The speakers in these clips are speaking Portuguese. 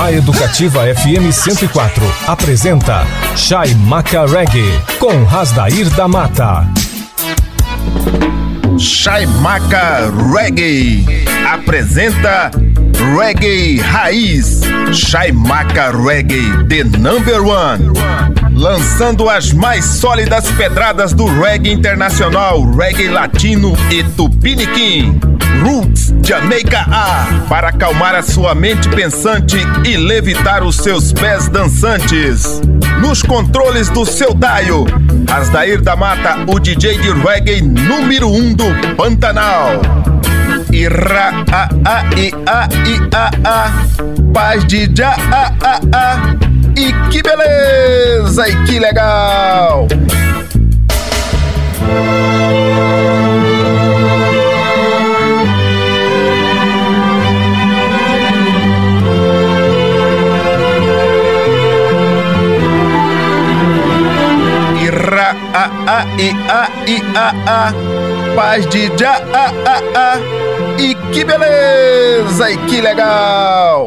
A Educativa FM 104 apresenta Chaimaca Reggae com Rasdair da Mata. Chaimaca Reggae apresenta Reggae Raiz. Chaimaca Reggae, the number one. Lançando as mais sólidas pedradas do reggae internacional, reggae latino e tupiniquim. Roots, Jamaica A, para acalmar a sua mente pensante e levitar os seus pés dançantes. Nos controles do seu Daio, Rasdair da Mata, o DJ de reggae número 1 do Pantanal. Ira a a i a i a a, paz de já a. E que beleza, e que legal! Ira a i a, paz de já a. E que beleza, e que legal!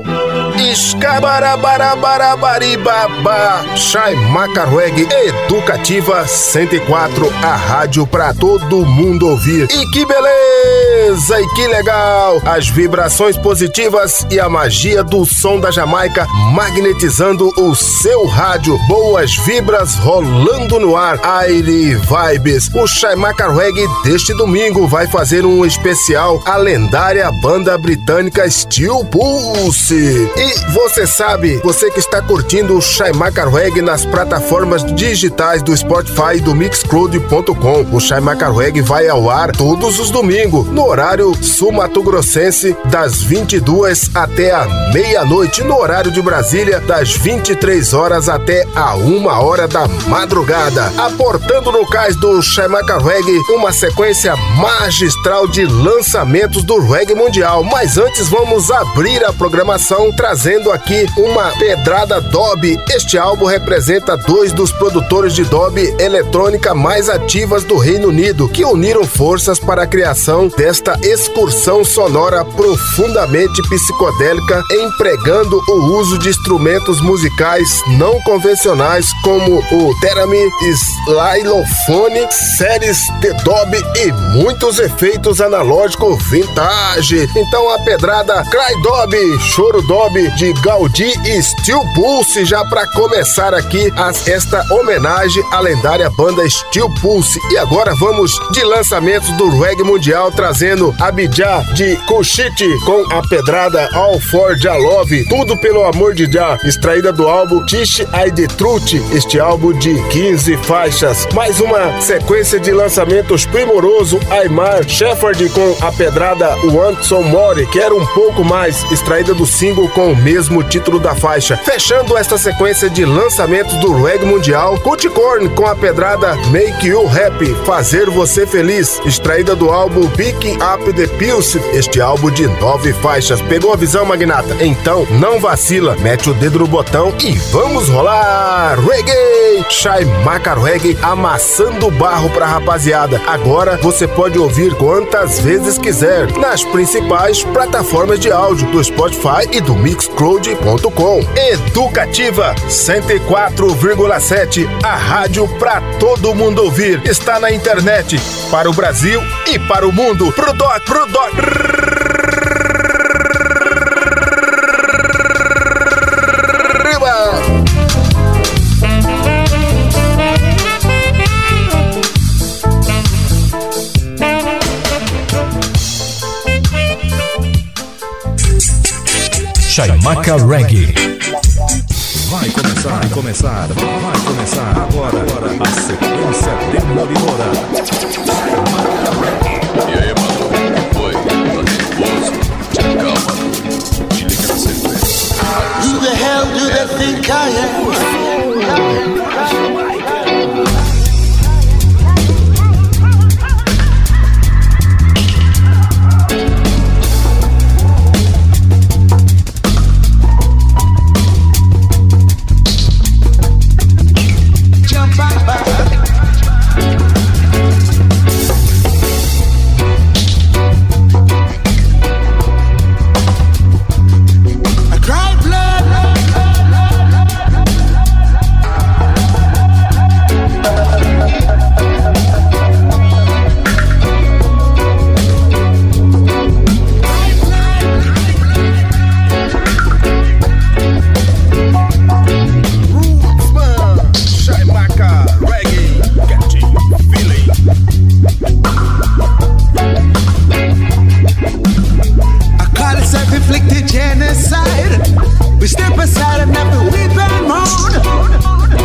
Escabarabarabarabaribaba. Chaimaca Reggae Educativa 104, a rádio pra todo mundo ouvir. E que beleza, e que legal! As vibrações positivas e a magia do som da Jamaica magnetizando o seu rádio. Boas vibras rolando no ar. Aire Vibes. O Chaimaca Reggae deste domingo vai fazer um especial à lendária banda britânica Steel Pulse. E você sabe, você que está curtindo o Chaimaca Reggae nas plataformas digitais do Spotify e do Mixcloud.com. O Chaimaca Reggae vai ao ar todos os domingos, no horário sul-mato-grossense, das 22 até a meia-noite, no horário de Brasília, das 23 horas até a 1 hora da madrugada. Aportando no cais do Chaimaca Reggae uma sequência magistral de lançamentos do reggae mundial. Mas antes vamos abrir a programação trazendo aqui uma pedrada Dub. Este álbum representa dois dos produtores de Dub eletrônica mais ativas do Reino Unido, que uniram forças para a criação desta excursão sonora profundamente psicodélica, empregando o uso de instrumentos musicais não convencionais como o Theremin, Xylophone, séries de Dub e muitos efeitos analógicos vintage. Então a pedrada Cry Dub, Choro Dub de Gaudi e Steel Pulse, já para começar aqui esta homenagem à lendária banda Steel Pulse. E agora vamos de lançamentos do reggae mundial, trazendo Abidjah de Kushite com a pedrada All for Jah Love, tudo pelo amor de Jah, extraída do álbum Tish I The Truth, este álbum de 15 faixas. Mais uma sequência de lançamentos primoroso, Aymar Shepherd com a pedrada Want Some More, Quero Um Pouco Mais, extraída do single com o mesmo título da faixa. Fechando esta sequência de lançamentos do reggae mundial, Culticorn com a pedrada Make You Happy, Fazer Você Feliz, extraída do álbum Picking Up The Pulse, este álbum de 9 faixas. Pegou a visão, magnata? Então não vacila, mete o dedo no botão e vamos rolar! Reggae! Chaimaca Reggae amassando barro pra rapaziada. Agora você pode ouvir quantas vezes quiser nas principais plataformas de áudio do Spotify e do Mixcloud.com. Educativa 104,7, a rádio pra todo mundo ouvir. Está na internet para o Brasil e para o mundo. Pro doc. Chaimaca Reggae. Vai começar agora a sequência demolidora. E aí, mano? Oi, tá nervoso? Calma, te liga na sequência. Who the hell do they think I am? I cried blood. inflicted genocide. We step aside and never weep and moan.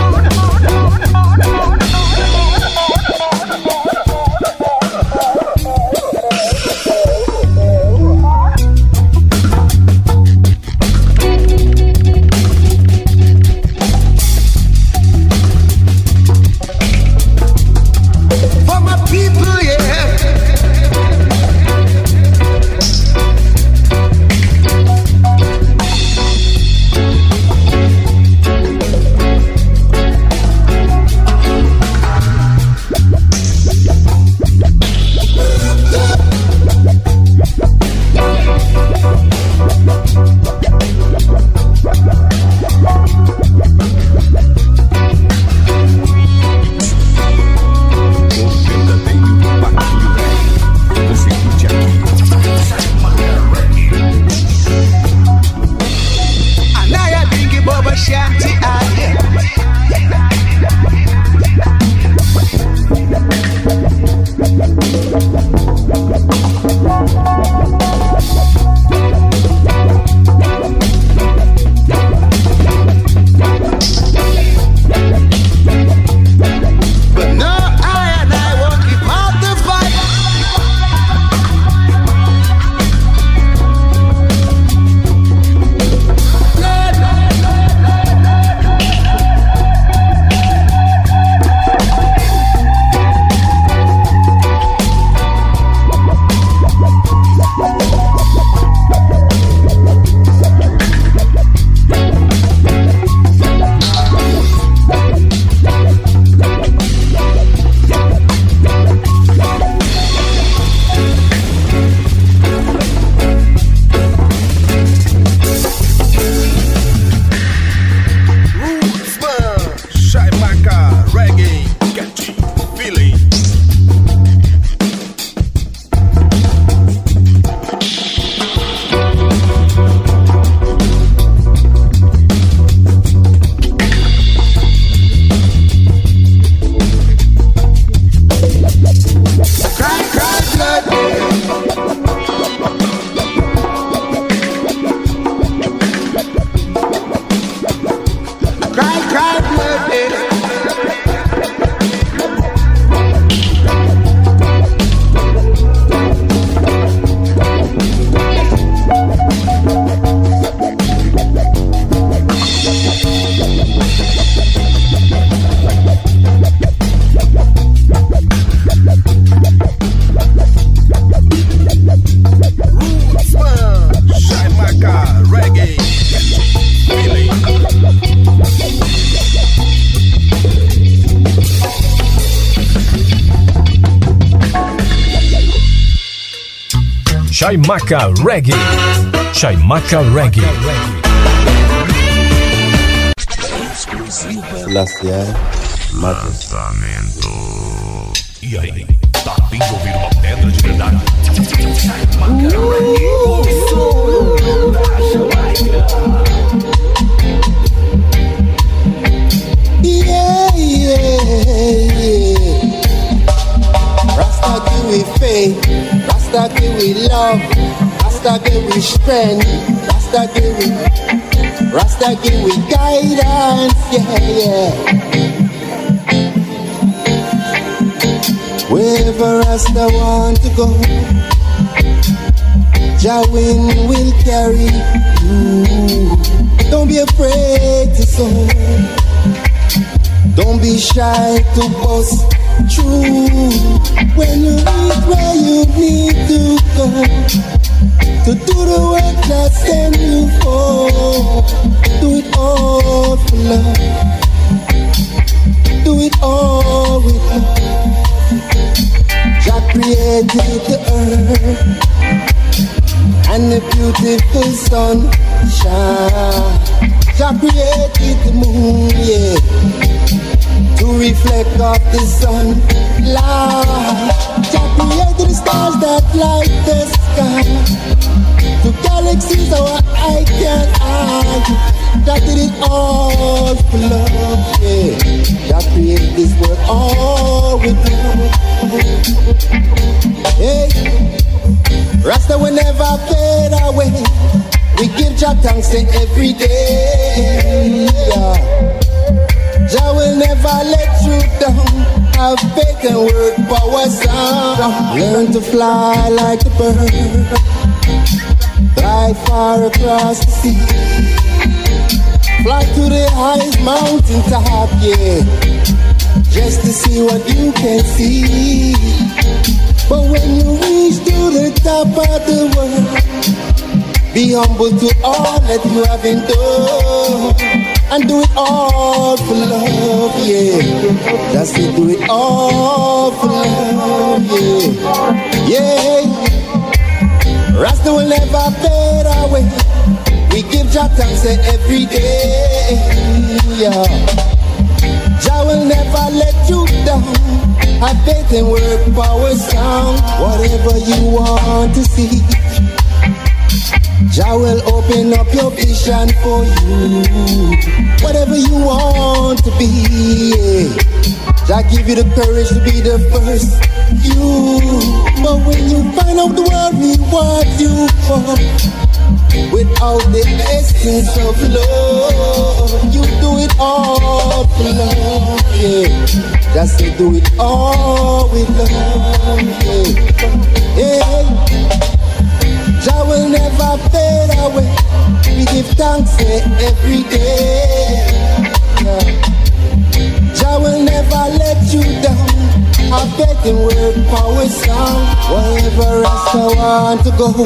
Chaimaca Reggae. Chaimaca Reggae. Lançamento. E aí, tá vindo ouvir uma pedra de verdade? Yeah, yeah, yeah. Rasta give we faith, Rasta give we love, Rasta give we strength, Rasta give we guidance, yeah, yeah. Wherever Rasta want to go, Jah will carry you. Don't be afraid to sow. Don't be shy to bust through. When you reach where you need to go, to do the work that sent you for, do it all for love. Do it all with love. Jah created the earth and the beautiful sunshine. Jah created the moon, yeah, to reflect off the sun light. Jah created the stars that light the sky, to galaxies our eye can eye. Jah did it all for love, yeah. Jah created this world all with love. Hey, Rasta will never fade away. We give Jah thanks every day. Jah will never let you down. Have faith and work power sound. Learn to fly like a bird. Fly far across the sea. Fly to the highest mountain top, yeah. Just to see what you can see. But when you reach to the top of the world, be humble to all that you have been done. And do it all for love, yeah. That's it, do it all for love, yeah. Yeah. Rasta will never fade away. We give Jah thanks every day, yeah. Jah will never let you down. Have faith and work power sound. Whatever you want to see, Jah will open up your vision for you. Whatever you want to be, yeah. Jah give you the courage to be the first you. But when you find out the world rewards you for, without the essence of love, you do it all for love, yeah. Just say do it all with love, yeah. Yeah. Jah will never fade away. We give thanks every day, yeah. Jah will never let you down. I bet in word power sound. Wherever else I want to go,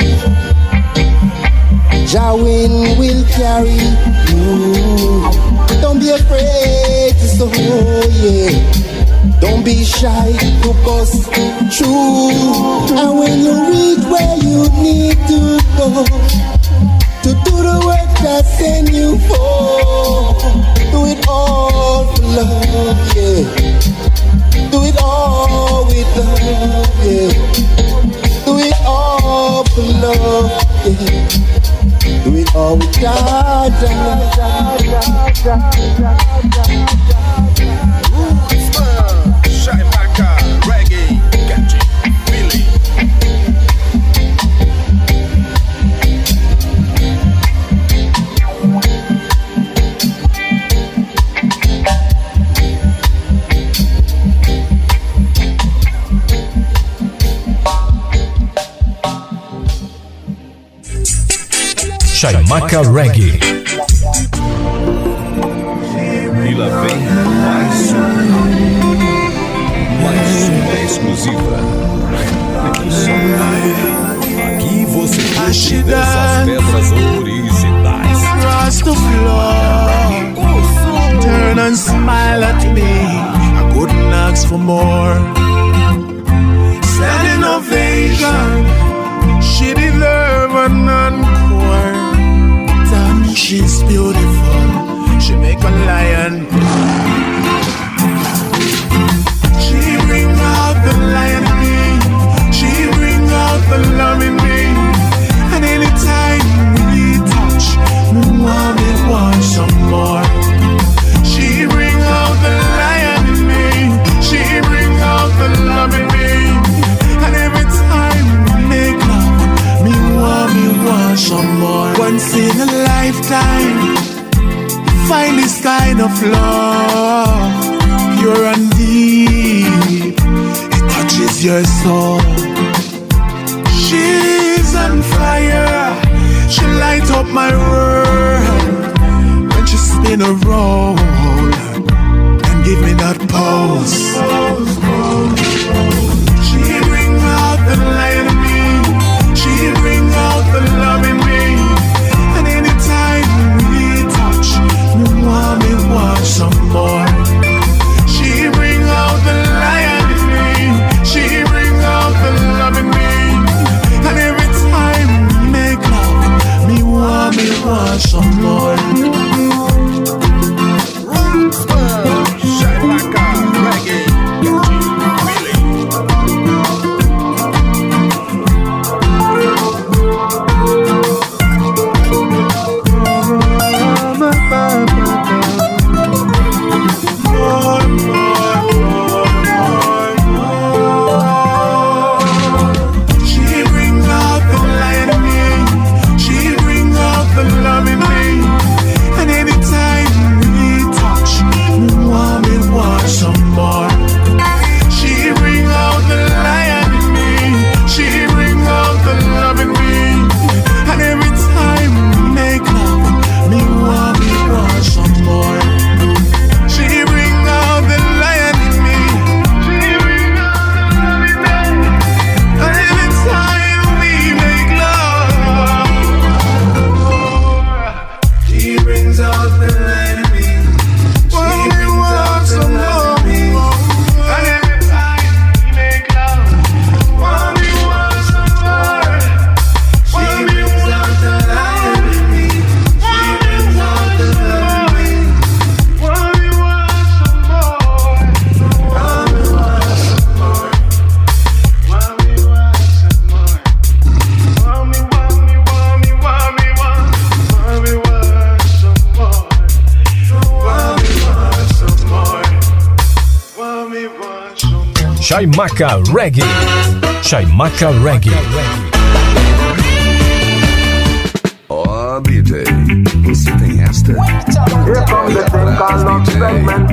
Jah will carry you. Don't be afraid to sow, yeah. Don't be shy to bust through. And when you reach where you need to go, to do the work that send you for, do it all for love, yeah. Do it all with love, yeah. Do it all for love, yeah. Do it all with Jah. Shai Maka Reggae, catchy, feeling. Shai Maka Reggae. E lá vem mais uma exclusiva. Aqui você curte dessas pedras originais. Across the floor, turn and smile at me. I couldn't ask for more. Standing ovation, she deserve an encore. Damn, she's beautiful. She make a lion. She bring out the lion in me. She bring out the love in me. And anytime we touch, me want some more. She bring out the lion in me. She bring out the love in me. And every time we make love, me want some more. Once in a lifetime, find this kind of love, pure and deep. It touches your soul. She's on fire. She light up my world when she spin around and give me that pose. She bring out the light in me. She bring out the love in me. And anytime we touch, me want some more. She bring out the lion in me. She bring out the love in me. And every time we make love, me want some more. Shai Maka Reggae, catchy, feeling. She bring out the lion in me. She bring out Chaimaca Reggae. Chaimaca Reggae. Ó, DJ, você tem esta? Here comes the thing called love segment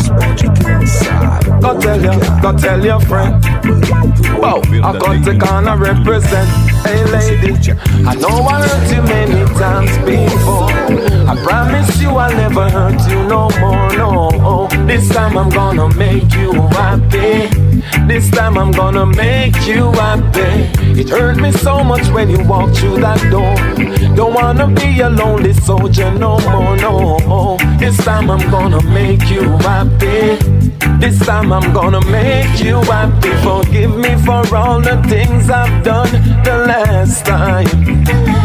again. Go tell your friend. Wow, I got to kinda represent. Hey lady, I know I hurt you many times before. I promise you I'll never hurt you no more, no. This time I'm gonna make you happy. This time I'm gonna make you happy. It hurt me so much when you walked through that door. Don't wanna be a lonely soldier no more, no. This time I'm gonna make you happy. This time I'm gonna make you happy. Forgive me for all the things I've done the last time.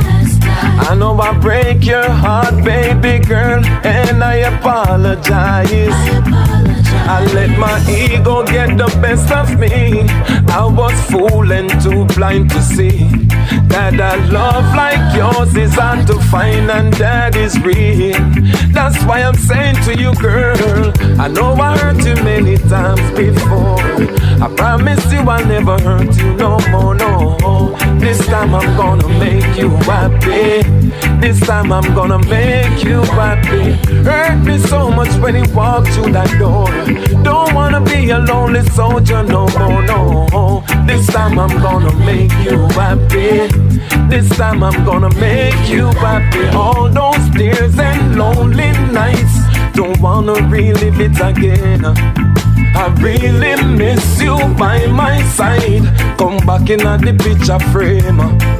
I know I break your heart, baby girl, and I apologize. I let my ego get the best of me. I was fool and too blind to see that a love like yours is hard to find and that is real. That's why I'm saying to you, girl, I know I hurt you many times before. I promise you I'll never hurt you no more, no. This time I'm gonna make you happy. This time I'm gonna make you happy. Hurt me so much when you walk through that door. Don't wanna be a lonely soldier no more, no. This time I'm gonna make you happy. This time I'm gonna make you happy. All those tears and lonely nights, don't wanna relive it again. I really miss you by my side. Come back in the picture frame.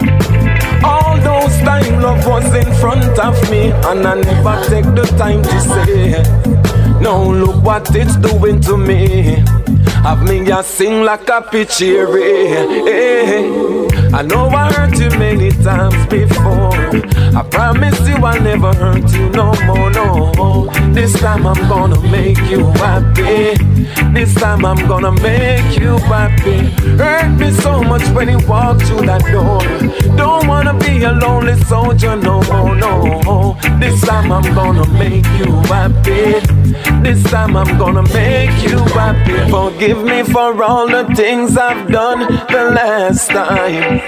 All those time love was in front of me, and I never take the time to say, no, look what it's doing to me. Have me a sing like a pitchery. I know I hurt you many times before. I promise you I'll never hurt you no more, no. This time I'm gonna make you happy. This time I'm gonna make you happy. Hurt me so much when you walk through that door. Don't wanna be a lonely soldier no more, no. This time I'm gonna make you happy. This time I'm gonna make you happy. Forgive me for all the things I've done the last time.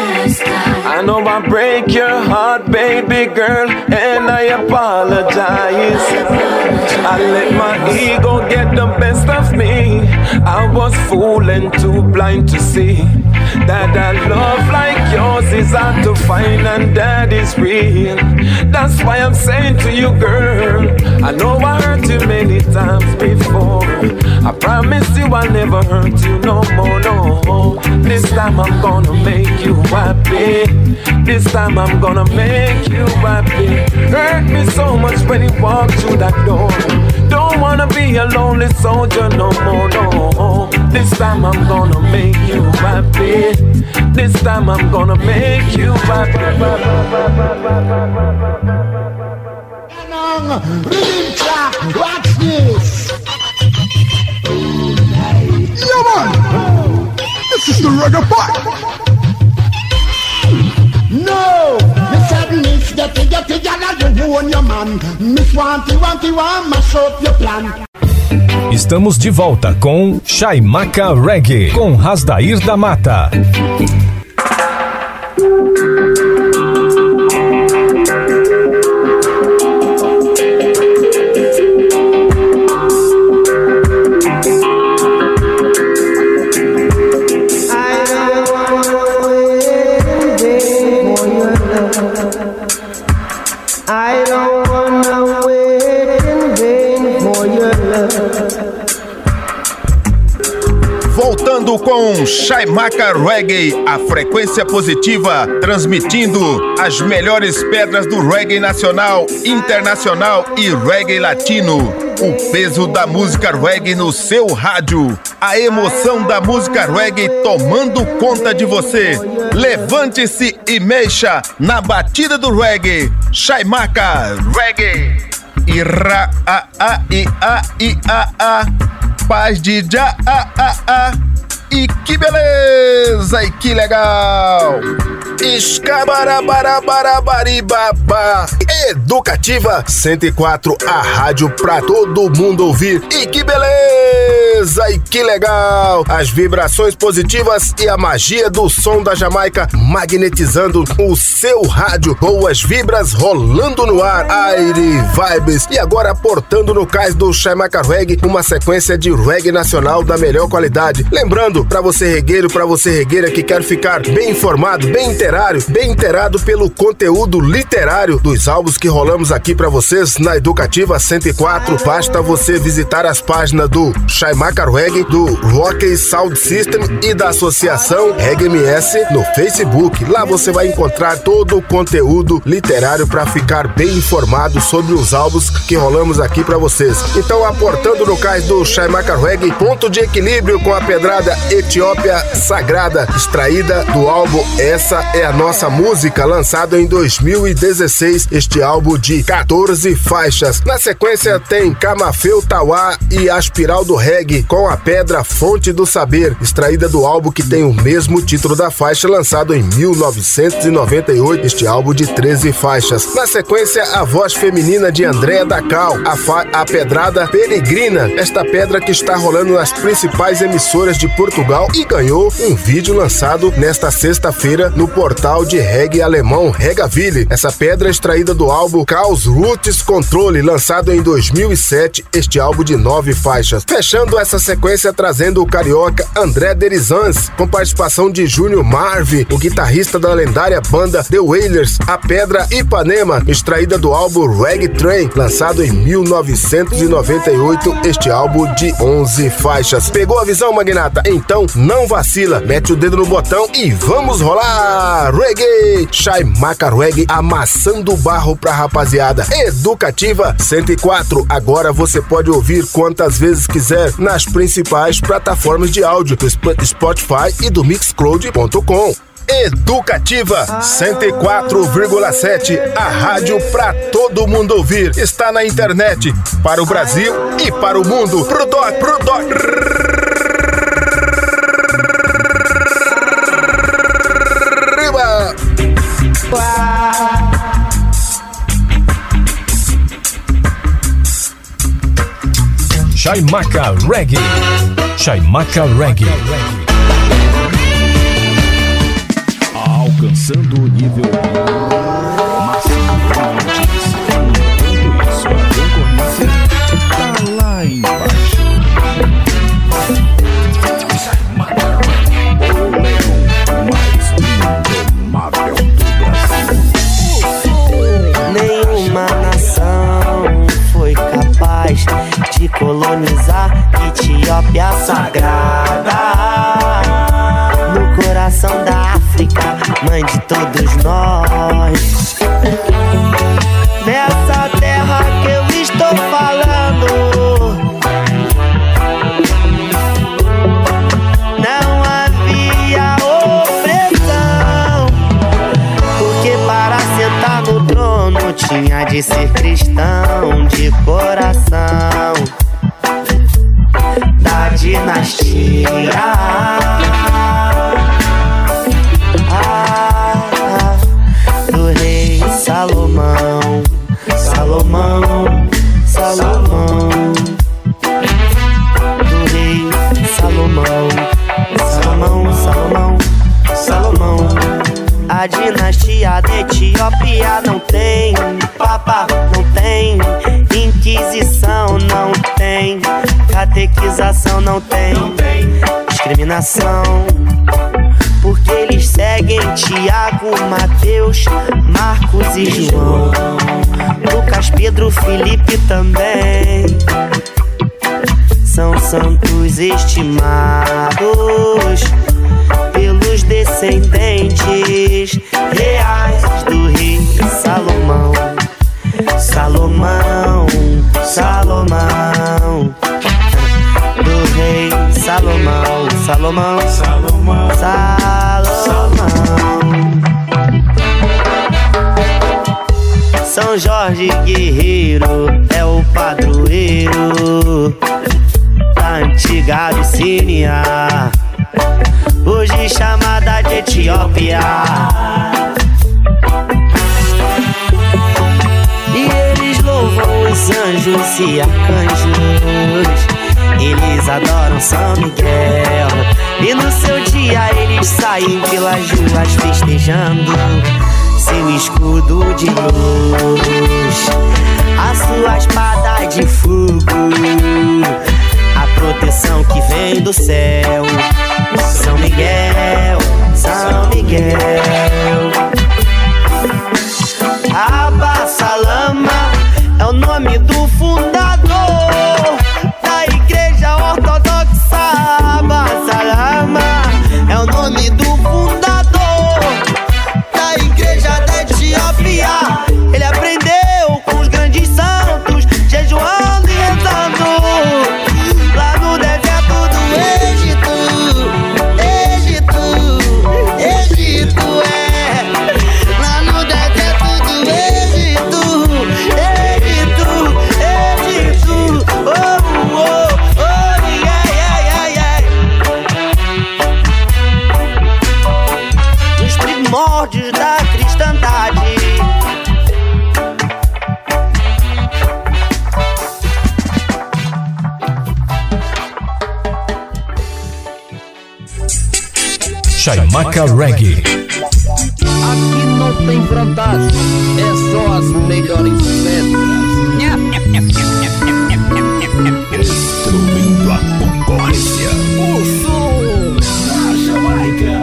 I know I break your heart, baby girl, and I apologize. I let my ego get the best of me. I was fool and too blind to see that a love like yours is hard to find and that is real. That's why I'm saying to you, girl, I know I hurt you many times before. I promise you I'll never hurt you no more, no. This time I'm gonna make you happy. This time I'm gonna make you happy. Hurt me so much when you walk through that door. Don't wanna be a lonely soldier no more, no. This time I'm gonna make you happy. This time I'm gonna make you happy. Watch this. Yeah, man. This is the reggae part. No, Miss Miss the figure, you own your man. Miss Wanty, mash up your plan. Estamos de volta com Chaimaca Reggae, com Rasdair da Mata. Voltando com Chaimaca Reggae, a frequência positiva, transmitindo as melhores pedras do reggae nacional, internacional e reggae latino. O peso da música reggae no seu rádio. A emoção da música reggae tomando conta de você. Levante-se e mexa na batida do reggae. Chaimaca Reggae. Ira a a i a i a a. Paz de já a a. E que beleza, e que legal! Escabarabarabarabaribabá. Educativa 104, a rádio pra todo mundo ouvir. E que beleza! beleza e que legal! As vibrações positivas e a magia do som da Jamaica magnetizando o seu rádio. Boas vibras rolando no ar, aire, vibes. E agora aportando no cais do Chaimaca Reggae, uma sequência de reggae nacional da melhor qualidade. Lembrando, pra você regueiro, pra você regueira que quer ficar bem informado, bem inteirado pelo conteúdo literário dos álbuns que rolamos aqui pra vocês na Educativa 104, basta você visitar as páginas do Chaimaca Reggae, do Rock Sound System e da Associação Reggae MS no Facebook. Lá você vai encontrar todo o conteúdo literário para ficar bem informado sobre os álbuns que rolamos aqui para vocês. Então, aportando no cais do Chaimaca Reggae, ponto de equilíbrio com a pedrada Etiópia Sagrada, extraída do álbum Essa é a Nossa Música, lançado em 2016, este álbum de 14 faixas. Na sequência tem Camafeu Tauá e a Espiral do Reggae com a Pedra Fonte do Saber, extraída do álbum que tem o mesmo título da faixa, lançado em 1998, este álbum de 13 faixas. Na sequência, a voz feminina de Andréa Dacal, a Pedrada Peregrina, esta pedra que está rolando nas principais emissoras de Portugal e ganhou um vídeo lançado nesta sexta-feira no portal de reggae alemão Regaville. Essa pedra é extraída do álbum Caos Roots Controle, lançado em 2007, este álbum de 9 faixas. Fechando essa sequência, trazendo o carioca André Derizans, com participação de Júnior Marvi, o guitarrista da lendária banda The Wailers, a pedra Ipanema, extraída do álbum Reggae Train, lançado em 1998, este álbum de 11 faixas. Pegou a visão, magnata? Então não vacila, mete o dedo no botão e vamos rolar! Reggae! Chaimaca Reggae amassando o barro pra rapaziada. Educativa 104, agora você pode ouvir quantas vezes quiser nas principais plataformas de áudio do Spotify e do Mixcloud.com. Educativa 104,7, a rádio pra todo mundo ouvir. Está na internet, para o Brasil e para o mundo. Pro doc. Riba! Chaimaca Reggae. Chaimaca Reggae. Alcançando o nível máximo de audiência. Enquanto isso, a concorrência tá lá embaixo. Chaimaca Reggae, o leão mais indomável do Brasil. Nenhuma nação foi capaz de colonizar Etiópia Sagrada, no coração da África, mãe de todos nós. Nessa terra que eu estou falando, não havia opressão, porque para sentar no trono tinha de ser cristão de coração, da dinastia do rei Salomão. Do rei Salomão. A dinastia da Etiópia não tem papa, não tem inquisição, não tem catequização, não tem discriminação, porque eles seguem Tiago, Mateus, Marcos e João, Lucas, Pedro, Felipe também. São santos estimados pelos descendentes reais do rei Salomão. Do rei Salomão. São Jorge Guerreiro é o padroeiro da antiga Abissínia, hoje chamada de Etiópia. E eles louvam os anjos e arcanjos, Eles adoram São Miguel e no seu dia eles saem pelas ruas festejando seu escudo de luz, a sua espada de fogo, a proteção que vem do céu. São Miguel, São Miguel. Abba Salama é o nome do fundador da Igreja Ortodoxa. Abba Salama é o nome do fundador da Igreja da Etiópia. Ele aprendeu com os grandes santos, jejuando e rezando lá no deserto do Egito. Egito é lá no deserto do Egito. Oh, oh, oh, yeah, yeah, yeah, yeah. Nos primórdios da cristandade, Chaimaca Reggae. Aqui não tem vantagem, é só as melhores pedras. Destruindo a concorrência. O som da Jamaica.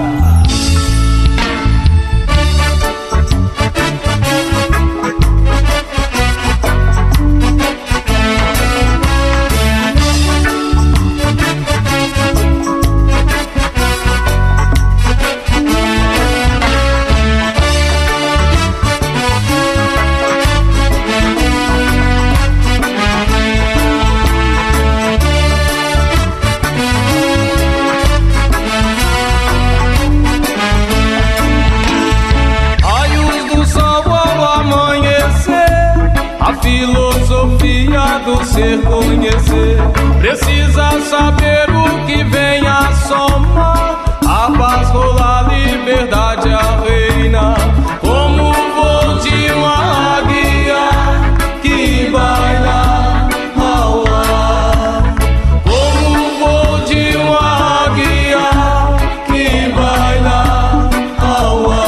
Filosofia do ser conhecer, precisa saber o que vem a somar. A paz rola, a liberdade a reina, como o voo de uma águia que baila ao ar. Como o voo de uma águia que baila ao ar.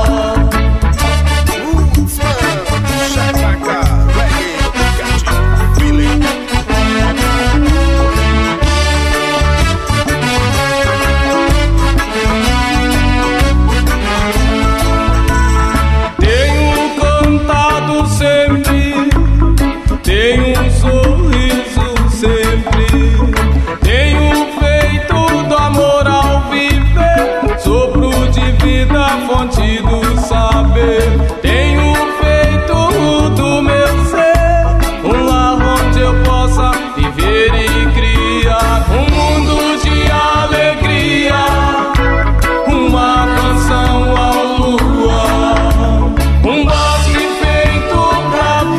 Fonte do saber, tenho feito do meu ser um lar onde eu possa viver e criar um mundo de alegria, uma canção ao luar, um bosque feito pra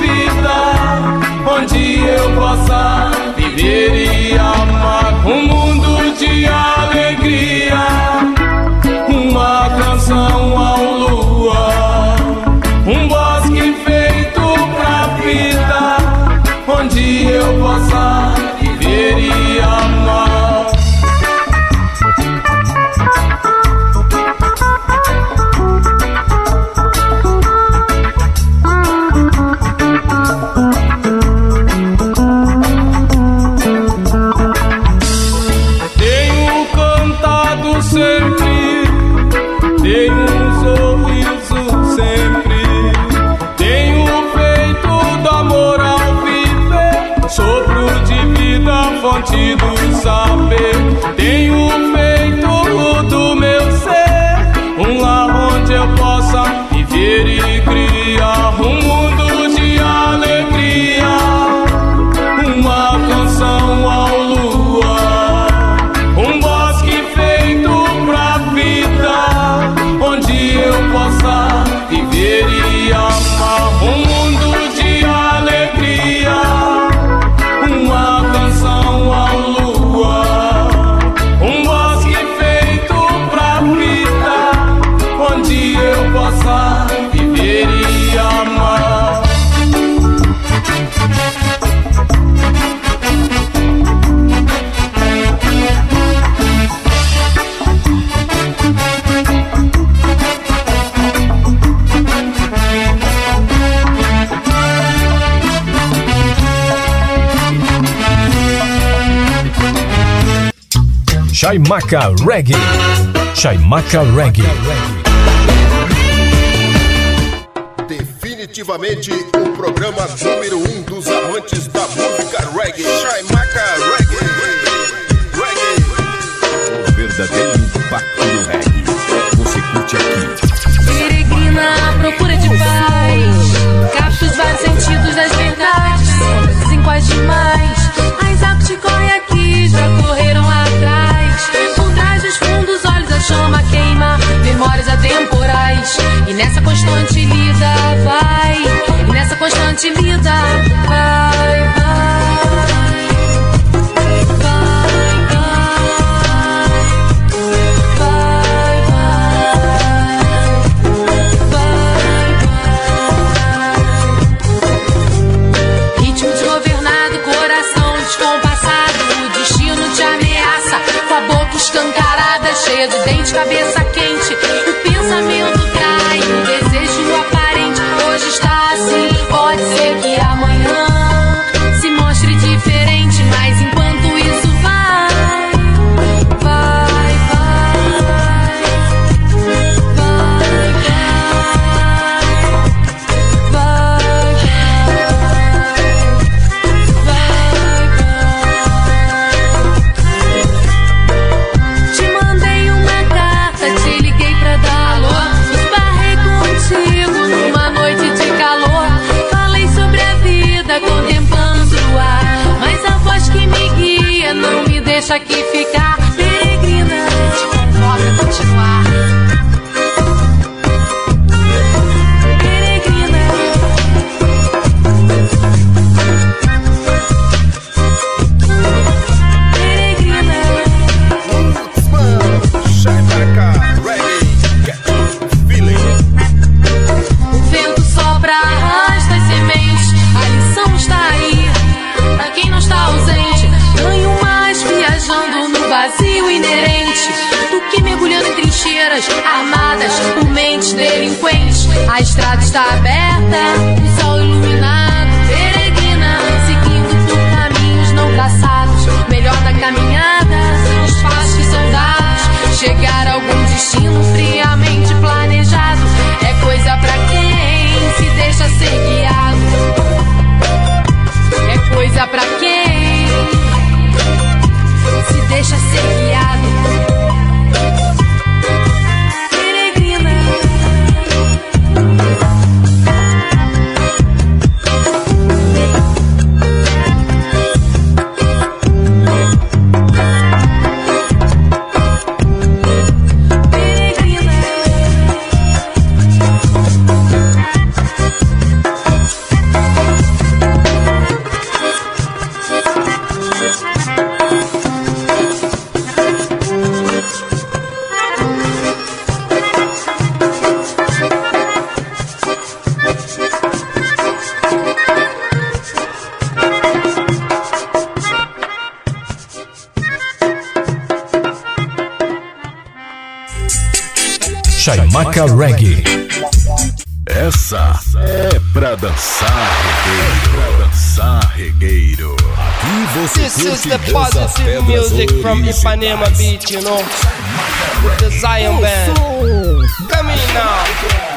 Chaimaca Reggae. Chaimaca Reggae. Definitivamente o programa número 1 dos amantes da música reggae. Chaimaca Reggae. O verdadeiro impacto do reggae. Você curte aqui. Peregrina à procura de paz, capta os vários sentidos das verdades, dizem quais demais. As águas que correm aqui já correram lá atrás. Por trás dos fundos olhos a chama queima, memórias atemporais. E nessa constante lida vai, e nessa constante lida vai, vai. Escancarada, cheia de dente, cabeça quente. O pensamento trai, o desejo aparente. Hoje está assim, pode ser que amanhã se mostre diferente. Mas enquanto isso vai, vai, vai, vai, vai, vai, não me deixa aqui ficar. Peregrina, te convoca a continuar. Peregrina. Peregrina. Chaimaca Reggae. Feeling. O vento sopra, arrasta as sementes. A lição está aí, pra quem não está ausente. Ganho mais viajando no vazio inerente do que mergulhando em trincheiras armadas por mentes delinquentes. A estrada está aberta, o sol iluminado. Peregrina, seguindo por caminhos não traçados. Melhor da caminhada, os passos que são dados. Chegar a algum destino friamente planejado é coisa pra quem se deixa ser guiado. É coisa pra quem se deixa ser guiado. Peregrina. Chaimaca Reggae. Essa é pra dançar regueiro. Pra dançar regueiro. Aqui você This is curte the positive music from Ipanema Beach, you know. The Zion Band. Come in now.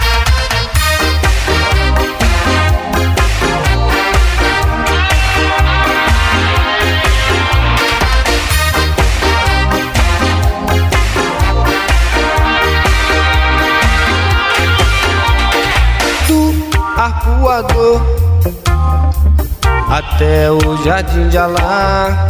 Arpoador até o Jardim de Alá.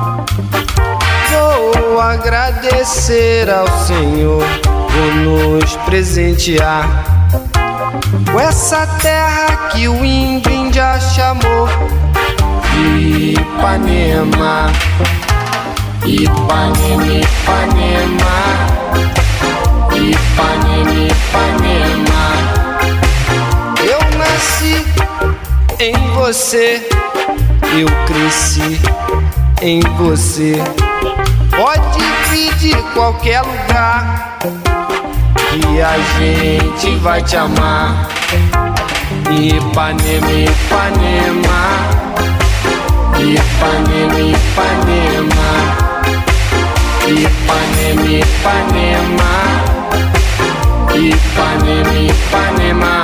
Vou agradecer ao Senhor por nos presentear com essa terra que o índio já chamou de Ipanema. Ipanema, Ipanema, Ipanema, Ipanema. Eu nasci em você, eu cresci em você. Pode vir de qualquer lugar que a gente vai te amar. Ipanema, Ipanema, Ipanema, Ipanema, Ipanema, Ipanema, Ipanema, Ipanema.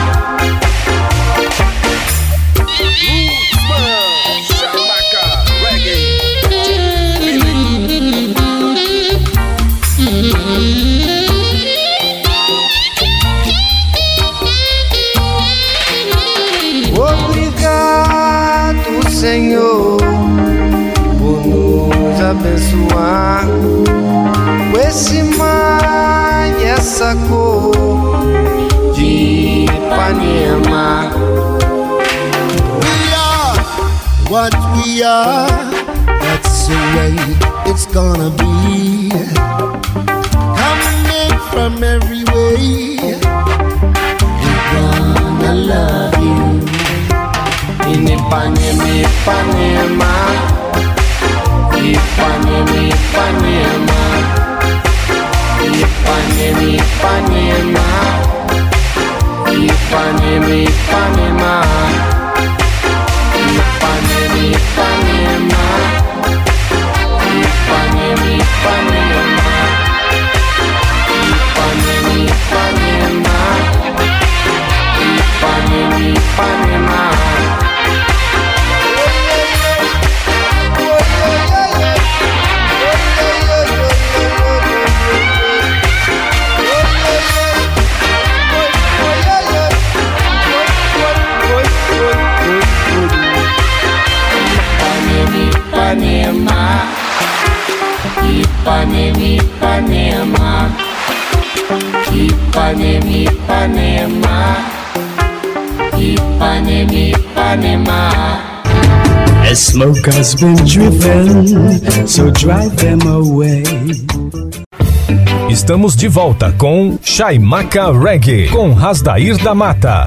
Obrigado, Senhor, por nos abençoar com esse mar e essa cor de Ipanema. We are what we are, that's the way it's gonna be. Coming from every way, we're gonna love you. In Ipanema, Ipanema, Ipanema, Ipanema, Ipanema, Ipanema, Ipanema, Ipanema, Ipanema, Ipanema, Ipanema, Ipanema, Ipanema, Ipanema, Ipanema, Ipanema. Ipanema, Ipanema, Ipanema, Ipanema, Ipanema. The smoke has been driven, so drive them away. Estamos de volta com Chaimaca Reggae, com Rasdair da Mata.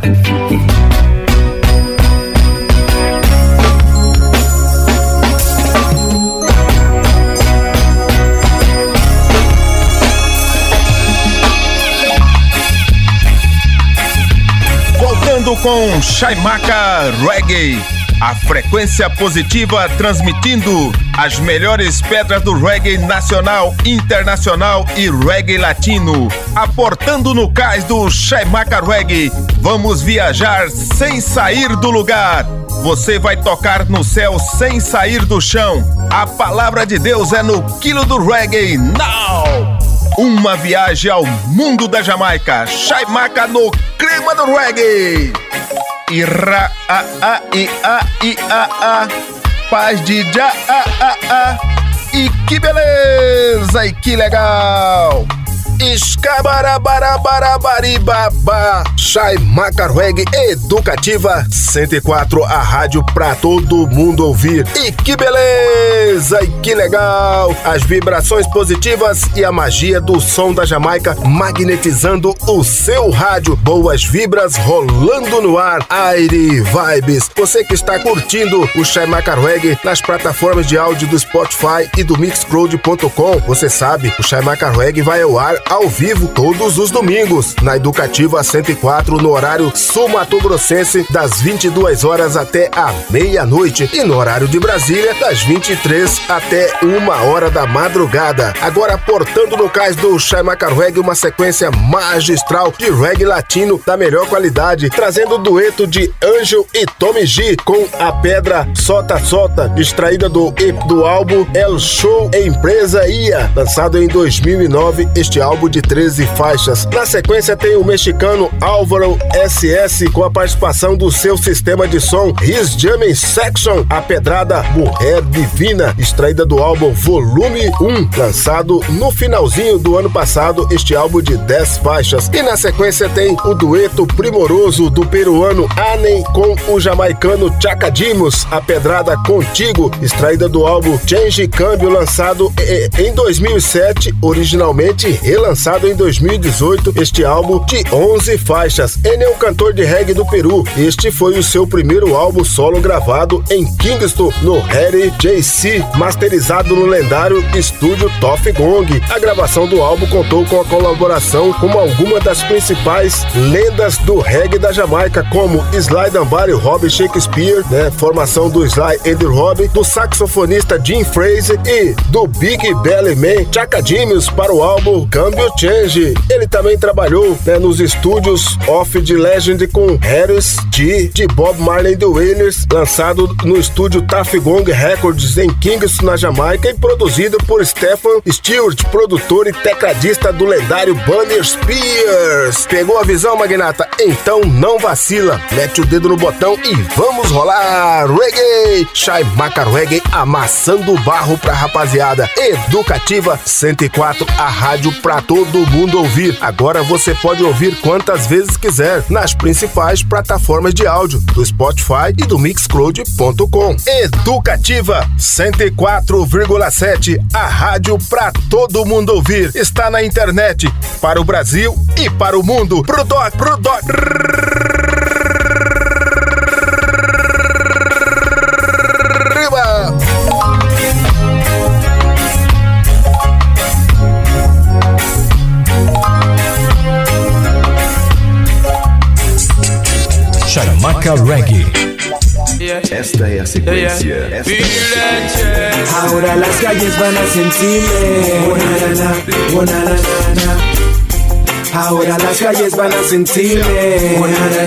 Com Chaimaca Reggae, a frequência positiva transmitindo as melhores pedras do reggae nacional, internacional e reggae latino. Aportando no cais do Chaimaca Reggae, vamos viajar sem sair do lugar. Você vai tocar no céu sem sair do chão. A palavra de Deus é no quilo do reggae. Now! Uma viagem ao mundo da Jamaica. Chaimaca no clima do reggae. Ira a a i a i a a. Paz de já a. E que beleza e que legal. Escabarabarabarabaribaba. Chaimaca Reggae Educativa 104, a rádio pra todo mundo ouvir. E que beleza e que legal. As vibrações positivas e a magia do som da Jamaica magnetizando o seu rádio. Boas vibras rolando no ar. Aire Vibes. Você que está curtindo o Chaimaca Reggae nas plataformas de áudio do Spotify e do Mixcloud.com, você sabe, o Chaimaca Reggae vai ao ar ao vivo todos os domingos na Educativa 104, no horário sul-mato-grossense, das 22 horas até a meia-noite, e no horário de Brasília, das 23 até 1h da madrugada. Agora, portando no cais do Chaimaca Reggae, uma sequência magistral de reggae latino da melhor qualidade, trazendo o dueto de Angel e Tommy G com a pedra Sota Sota, extraída do álbum El Show Empresa Ia, lançado em 2009, este álbum de 13 faixas. Na sequência tem o mexicano Álvaro SS com a participação do seu sistema de som His Jamming Section, a pedrada Mulher Divina, extraída do álbum Volume 1, lançado no finalzinho do ano passado, este álbum de 10 faixas. E na sequência tem o dueto primoroso do peruano Anen com o jamaicano Chacadimos, a pedrada Contigo, extraída do álbum Change Câmbio, lançado em 2007, originalmente relativamente lançado em 2018 este álbum de 11 faixas. Ele é um cantor de reggae do Peru. Este foi o seu primeiro álbum solo gravado em Kingston, no Harry JC, masterizado no lendário estúdio Tuff Gong. A gravação do álbum contou com a colaboração com algumas das principais lendas do reggae da Jamaica, como Sly Dunbar e Robbie Shakespeare, formação do Sly and Robbie, do saxofonista Jim Fraser e do Big Belly Man Chaka Dimius para o álbum Cambio Change. Ele também trabalhou nos estúdios Of the Legend com Harris G de Bob Marley and the Wailers, lançado no estúdio Tuff Gong Records em Kingston, na Jamaica, e produzido por Stephen Stewart, produtor e tecladista do lendário Bunny Spears. Pegou a visão, magnata? Então não vacila, mete o dedo no botão e vamos rolar reggae. Chaimaca Reggae amassando o barro pra rapaziada. Educativa 104, a rádio pra todo mundo ouvir. Agora você pode ouvir quantas vezes quiser nas principais plataformas de áudio do Spotify e do Mixcloud.com. Educativa 104,7, a rádio pra todo mundo ouvir. Está na internet para o Brasil e para o mundo. Pro doc. Chaimaca Reggae. Esta é a secuencia. Ahora las calles van a sentirme. Ahora las calles van a sentirme.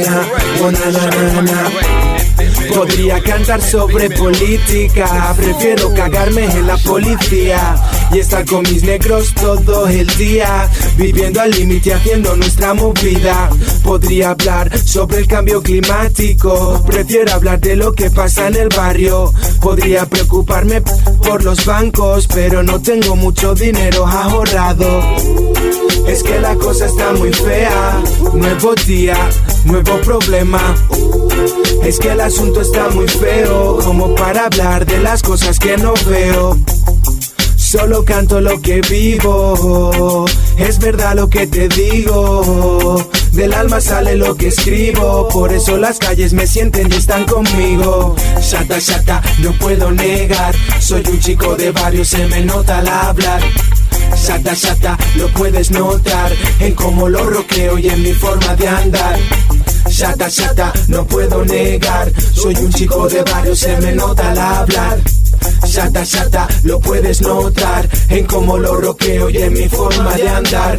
Podría cantar sobre política, prefiero cagarme en la policía y estar con mis negros todo el día, viviendo al límite haciendo nuestra movida. Podría hablar sobre el cambio climático, prefiero hablar de lo que pasa en el barrio. Podría preocuparme por los bancos, pero no tengo mucho dinero ahorrado. Es que la cosa está muy fea, nuevo día, nuevo problema. Es que el asunto está muy feo como para hablar de las cosas que no veo. Solo canto lo que vivo, es verdad lo que te digo. Del alma sale lo que escribo, por eso las calles me sienten y están conmigo. Shata, no puedo negar, soy un chico de barrio, se me nota al hablar. Shata, lo puedes notar en cómo lo roqueo y en mi forma de andar. Shata, no puedo negar, soy un chico de barrio, se me nota al hablar. Shata, lo puedes notar en cómo lo roqueo y en mi forma de andar.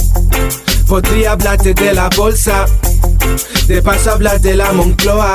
Podría hablarte de la bolsa, de paso hablar de la Moncloa,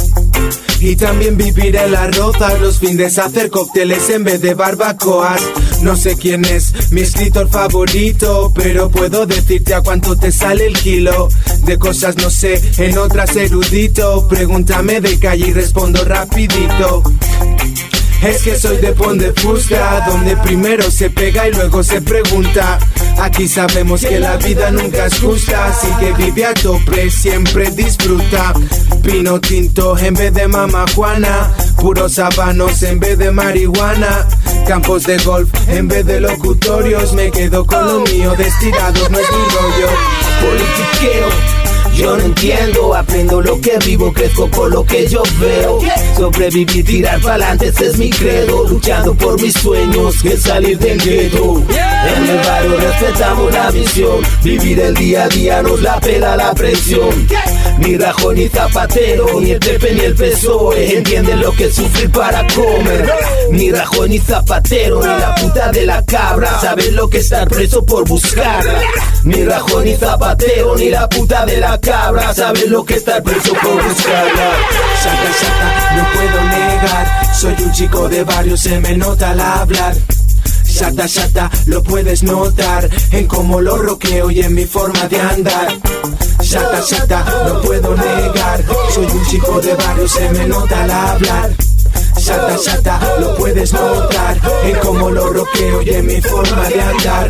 y también vivir en las rozas, los fines hacer cócteles en vez de barbacoas. No sé quién es mi escritor favorito, pero puedo decirte a cuánto te sale el kilo. De cosas no sé, en otras erudito. Pregúntame de calle y respondo rapidito. Es que soy de Pont de Fusta, donde primero se pega y luego se pregunta. Aquí sabemos que la vida nunca es justa, así que vive a tope, siempre disfruta. Pino tinto en vez de mama Juana, puros habanos en vez de marihuana, campos de golf en vez de locutorios. Me quedo con lo mío, de estirados no es mi rollo. Politiqueo, yo no entiendo, aprendo lo que vivo, crezco con lo que yo veo. Sobrevivir, tirar pa'lante, ese es mi credo. Luchando por mis sueños, que salir del gueto. En el barrio respetamos la visión, vivir el día a día nos la pela la presión. Ni Rajoy ni Zapatero, ni el Pepe ni el PSOE entienden lo que es sufrir para comer. Ni Rajoy ni Zapatero, ni la puta de la cabra saben lo que es estar preso por buscarla. Ni Rajoy ni Zapatero, ni la puta de la cabra saben lo que es estar preso por buscarla. Shata, no puedo negar, soy un chico de barrio, se me nota al hablar. Shata, lo puedes notar en cómo lo roqueo y en mi forma de andar. Shata, no puedo negar, soy un chico de barrio, se me nota al hablar. Shata, lo puedes notar en cómo lo roqueo y en mi forma de andar.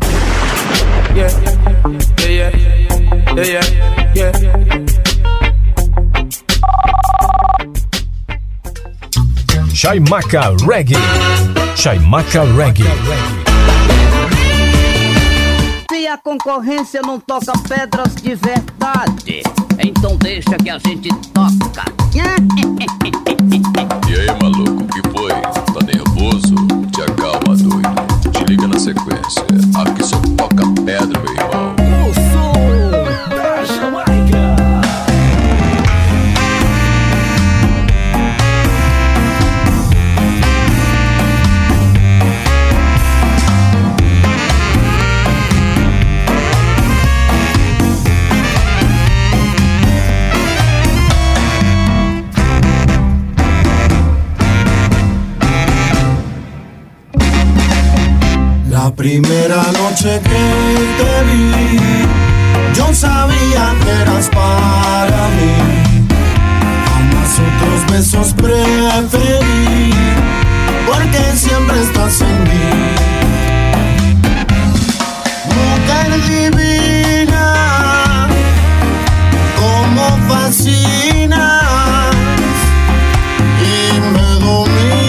Chaimaca Reggae. Chaimaca Reggae. See, I a concorrência não toca pedras de verdade. Então deixa que a gente toca. E aí, maluco, o que foi? Tá nervoso? Te acalma, doido. Te liga na sequência. Aqui só toca pedra, meu irmão. Eu sou da Jamaica. La primera noche que te vi, yo sabía que eras para mí. Jamás otros besos preferí, porque siempre estás en mí. Mujer divina, como fascinas y me dominas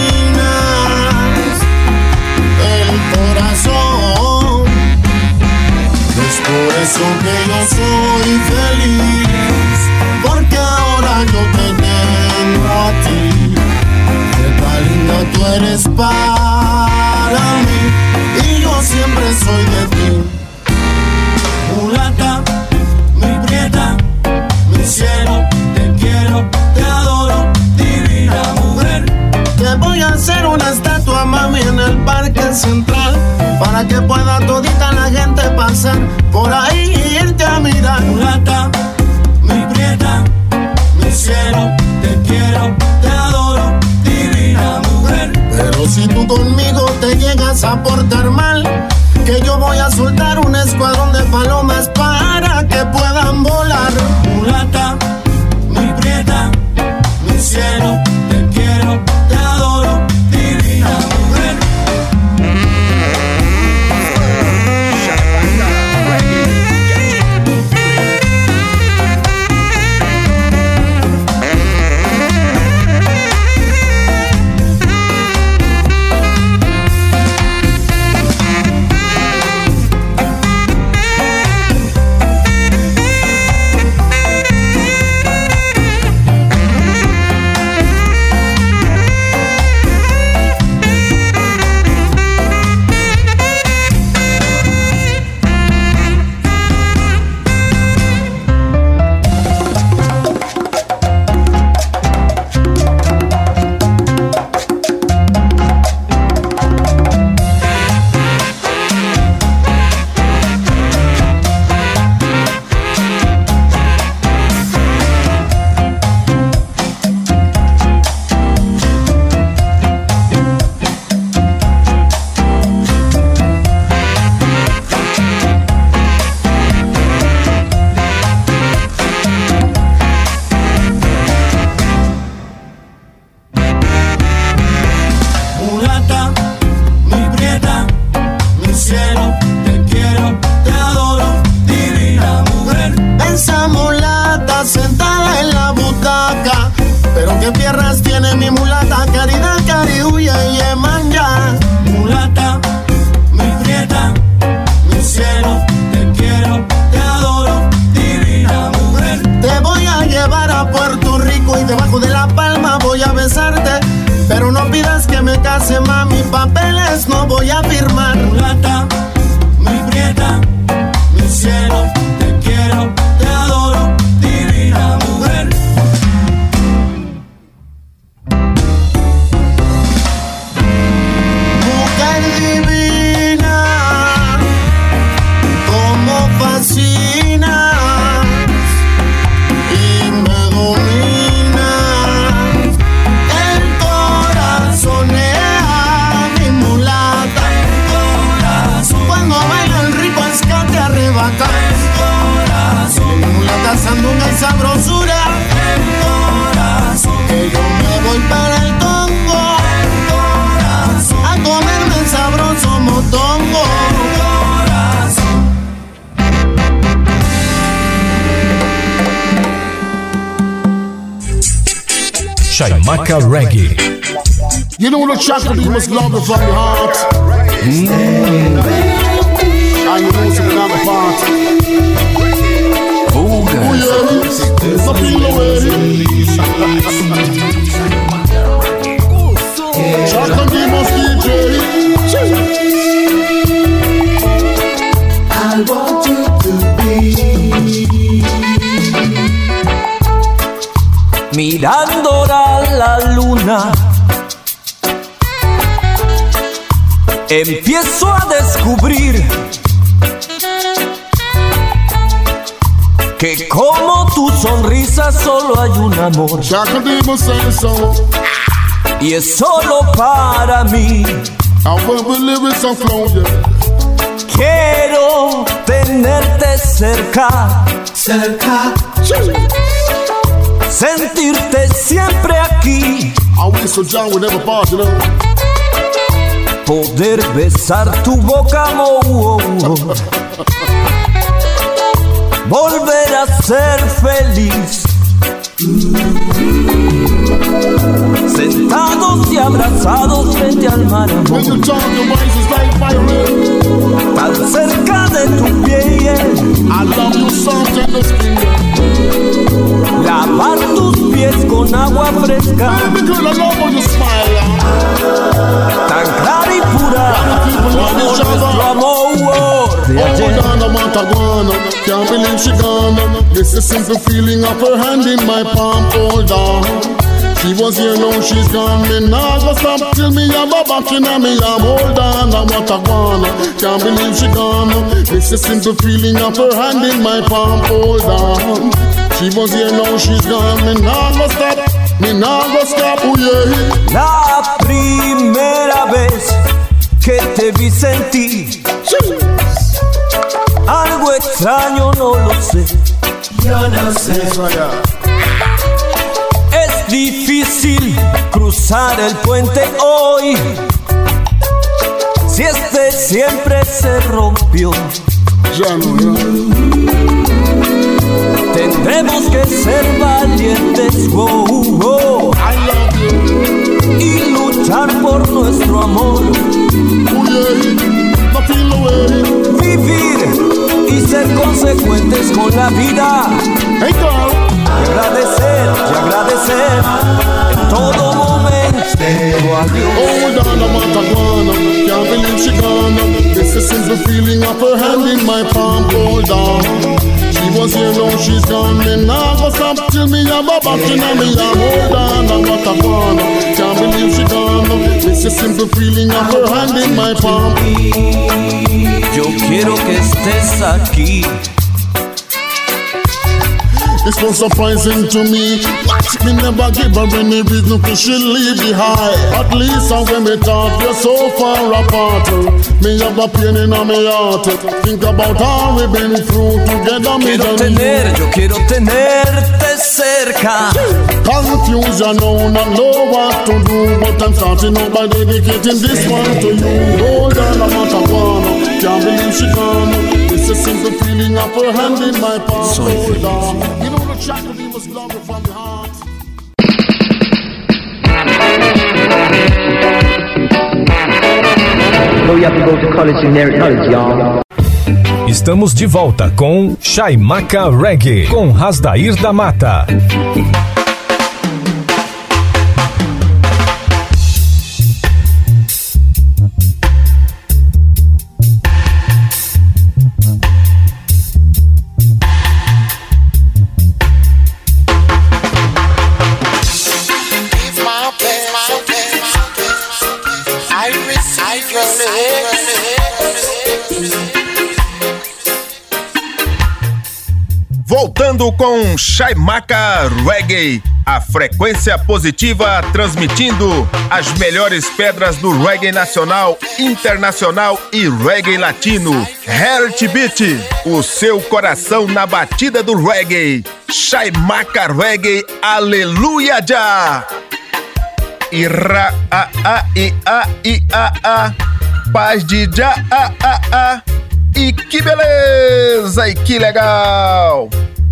corazón. Es por eso que yo soy feliz, porque ahora yo te tengo a ti. Qué tan linda tú eres para mí, y yo siempre soy de ti. Mulata, mi prieta, mi cielo, te quiero, te adoro, divina mujer. Te voy a hacer una estatua, mami, en el parque central, para que pueda todita la gente pasar por ahí y irte a mirar. Mulata, mi prieta, mi cielo, te quiero, te adoro, divina mujer. Pero si tú conmigo te llegas a portar mal, que yo voy a soltar un escuadrón de palomas para que puedan volar. Mulata, mi prieta, mi cielo, te quiero, te adoro, divina mujer. Mami, papeles no voy a firmar. Mulata, mi prieta, mi cielo, te quiero, te adoro, divina mujer. Mujer divina, como fascinas y me dominas. El corazón sandunga y sabrosura, el corazón, que yo me voy para el Congo, el corazón, a comerme el sabroso motongo, el corazón. Chaimaca Reggae. You know the track that you must love it from your heart. And you know, so we have a party. Oh, yeah. So feel the way. Shot and give us DJ. I want you to be mirando la luna, empiezo a descubrir que como tu sonrisa solo hay un amor, y es solo para mí. Quiero tenerte cerca, sentirte siempre aquí, poder besar tu boca, volver a ser feliz, sentados y abrazados frente al mar, tan cerca de tu piel, lavar tus pies con agua fresca, tan clara y pura como nuestro amor de ayer. Can't believe she gone. This is simple feeling of her hand in my palm, hold on. She was here, now she's gone. Me nah go stop till me have a back in me arm. Hold on, I want a gone. Can't believe she gone. This is simple feeling of her hand in my palm, hold on. She was here, now she's gone. Me nah go stop, oh yeah. La primera vez que te vi sentí algo extraño, no lo sé. Yo no sé. Es difícil cruzar el puente hoy, si este siempre se rompió. Tendremos que ser valientes, y luchar por nuestro amor. Vivir y ser consecuentes con la vida. Y agradecer en todo momento. Hold on, I want a gone. Can't believe she gone. This is the feeling of her hand in my palm, hold on. She was here, now she's gone. Me nah go stop till me have a back in me arm. Hold on, I want a gone. Can't believe she gone. This is simple feeling of her hand in my palm. Yo quiero que estés aquí. It's so surprising to me. Me never give her any reason to she leave behind. At least when we talk, you're so far apart. Me have a pain in my heart. Think about how we've been through together. Yo quiero tenerte cerca. Confusion, no, not know what to do. But I'm starting out by dedicating this one to you. Hold on, I'm not a one. Can't believe she gone. It's a simple feeling of her hand in my palm. Hold on. You know the track of me must love it from the heart. Oh, you have to go to college to inherit knowledge, y'all. Estamos de volta com Chaimaca Reggae, com Rasdair da Mata. Voltando com Chaimaca Reggae, a frequência positiva transmitindo as melhores pedras do reggae nacional, internacional e reggae latino. Heartbeat, o seu coração na batida do reggae. Chaimaca Reggae, aleluia já! Ira a a i a i a a, paz de já a a a. E que beleza, e que legal!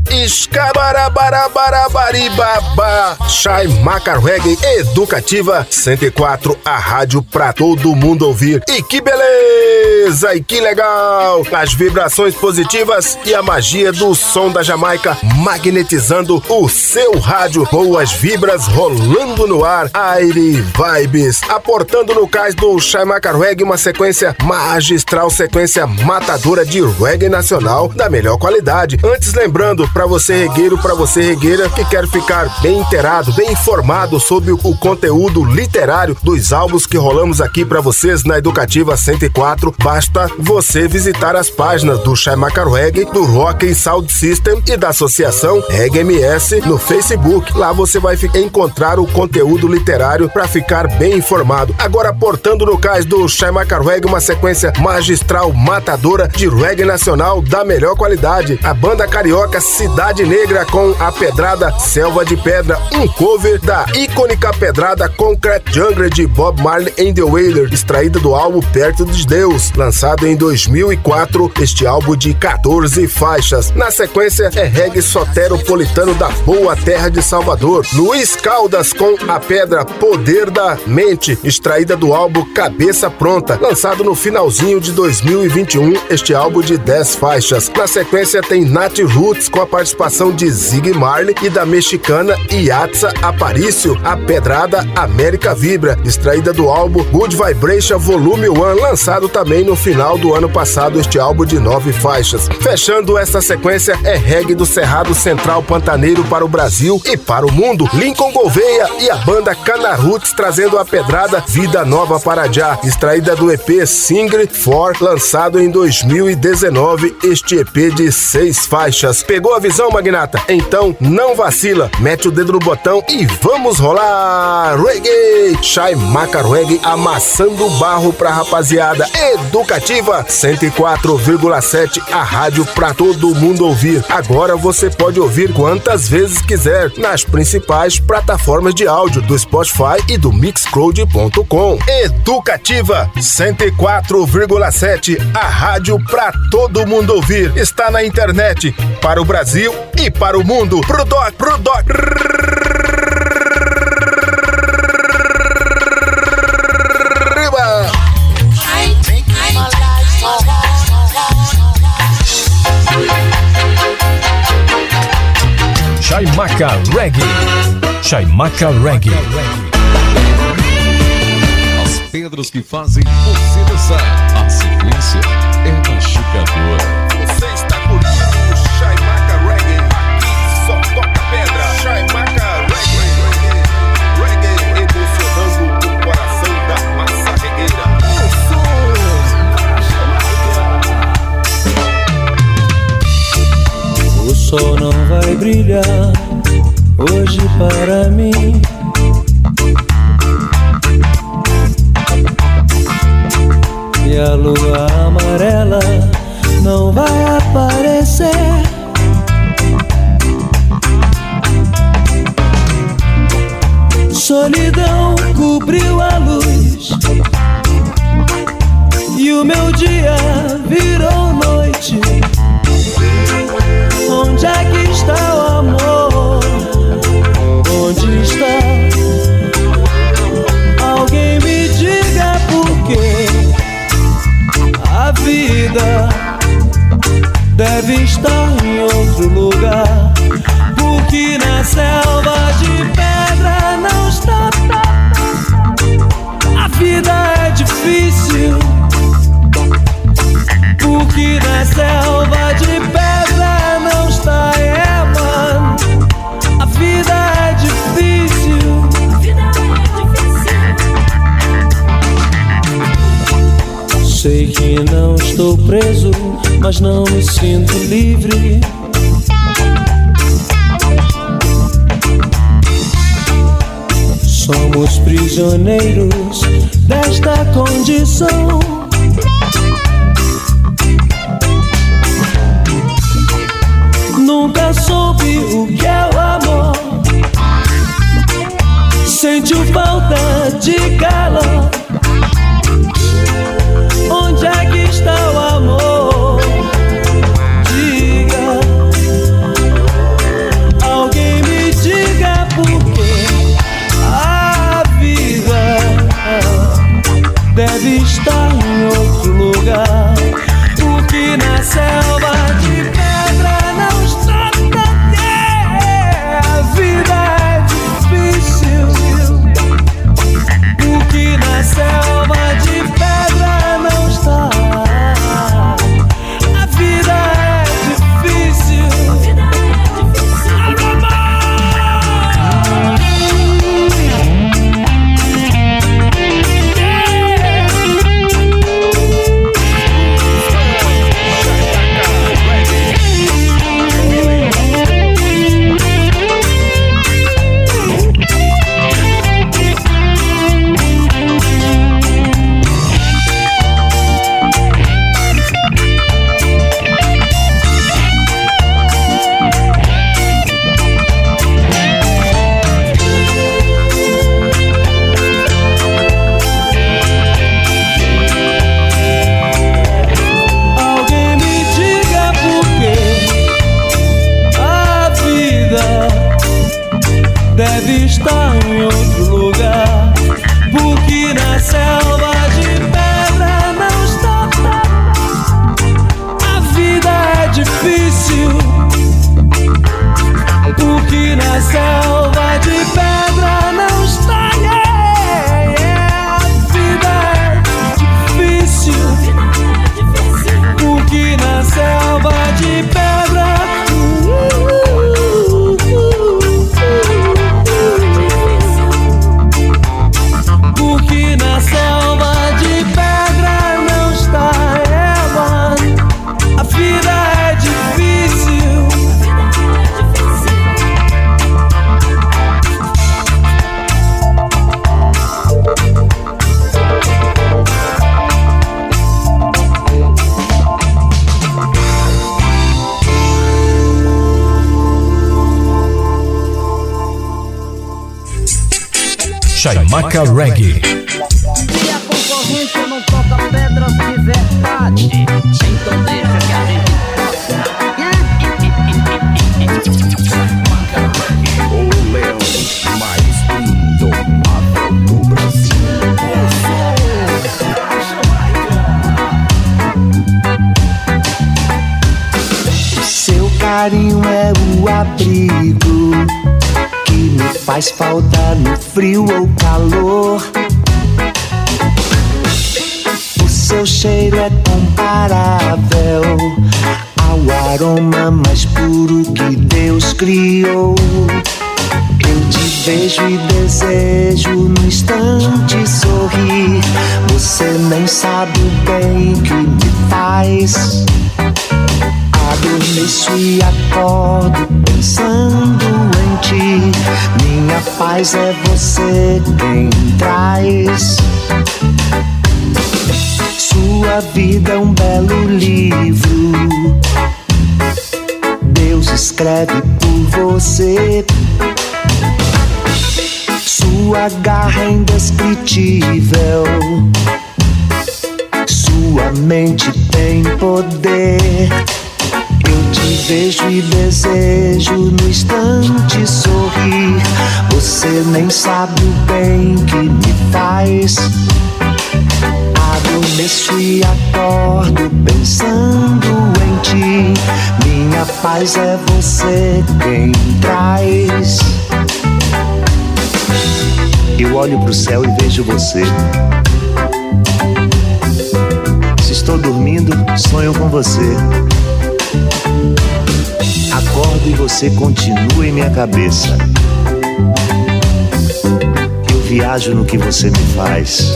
Escabarabarabarabaribaba. Chaimaca Reggae Educativa 104, a rádio pra todo mundo ouvir. E que beleza! beleza e que legal! As vibrações positivas e a magia do som da Jamaica magnetizando o seu rádio. Boas vibras rolando no ar. Aire Vibes. Aportando no cais do Chaimaca Reggae uma sequência magistral, sequência matadora de reggae nacional da melhor qualidade. Antes, lembrando, para você regueiro, para você regueira que quer ficar bem inteirado, bem informado sobre o conteúdo literário dos álbuns que rolamos aqui para vocês na Educativa 104, basta você visitar as páginas do Chaimaca Reggae, do Rock and Sound System e da Associação Reggae MS no Facebook. Lá você vai encontrar o conteúdo literário para ficar bem informado. Agora, portando no cais do Chaimaca Reggae uma sequência magistral, matadora de reggae nacional da melhor qualidade. A banda carioca Cidade Negra com a pedrada Selva de Pedra, um cover da icônica pedrada Concrete Jungle de Bob Marley and the Wailers, extraída do álbum Perto de Deus, lançado em 2004, este álbum de 14 faixas. Na sequência é reggae soteropolitano da boa terra de Salvador, Luiz Caldas com a pedra Poder da Mente, extraída do álbum Cabeça Pronta, lançado no finalzinho de 2021, este álbum de 10 faixas. Na sequência tem Nat Roots com a participação de Zig Marley e da mexicana Yatza Aparicio, a pedrada América Vibra, extraída do álbum Good Vibration Volume 1, lançado também no final do ano passado, este álbum de 9 faixas. Fechando essa sequência é reggae do Cerrado Central Pantaneiro para o Brasil e para o mundo, Lincoln Gouveia e a banda Cana Roots trazendo a pedrada Vida Nova para Já, extraída do EP Single 4, lançado em 2019, este EP de 6 faixas. Pegou a visão, magnata? Então não vacila, mete o dedo no botão e vamos rolar reggae! Chaimaca Reggae amassando barro pra rapaziada. Educativa 104,7, a rádio pra todo mundo ouvir. Agora você pode ouvir quantas vezes quiser nas principais plataformas de áudio do Spotify e do Mixcloud.com. Educativa 104,7, a rádio pra todo mundo ouvir. Está na internet para o Brasil e para o mundo. Pro doc. Chaimaca Reggae. Chaimaca Reggae. As pedras que fazem você dançar. A sequência é machucadora. Você está curtindo o Chaimaca Reggae. Aqui só toca pedra. Chaimaca Reggae. Reggae emocionando o coração da massa regueira. O sol não vai brilhar hoje para mim. E a lua amarela não vai aparecer. Solidão cobriu a luz e o meu dia virou noite. Onde é que está o amor? Onde está? Alguém me diga por quê. A vida deve estar em outro lugar, porque na selva de pedra não está. A vida é difícil, porque na selva de pedra não está. Mano, a vida é difícil. Sei que não estou preso, mas não me sinto livre. Somos prisioneiros desta condição. Nunca soube o que é o amor. Sentiu falta de calor. Onde é que está o amor? Diga. Alguém me diga por quê. A vida deve estar em outro lugar, Chaimaca Reggae. Se a concorrência não toca pedras de verdade, então deixa que a gente O leão mais indomável do Brasil. O seu carinho é o abrigo que me faz falta no frio ou calor. O seu cheiro é comparável ao aroma mais puro que Deus criou. Eu te vejo e desejo no instante sorrir. Você nem sabe o bem que me faz. Adormeço e acordo pensando em ti. Minha paz é você quem traz. Sua vida é um belo livro. Deus escreve por você. Sua garra é indescritível. Sua mente tem poder. Eu te vejo e desejo no instante sorrir. Você nem sabe o bem que me faz. Adormeço e acordo pensando em ti. Minha paz é você quem traz. Eu olho pro céu e vejo você. Se estou dormindo, sonho com você. Acordo e você continua em minha cabeça. Eu viajo no que você me faz.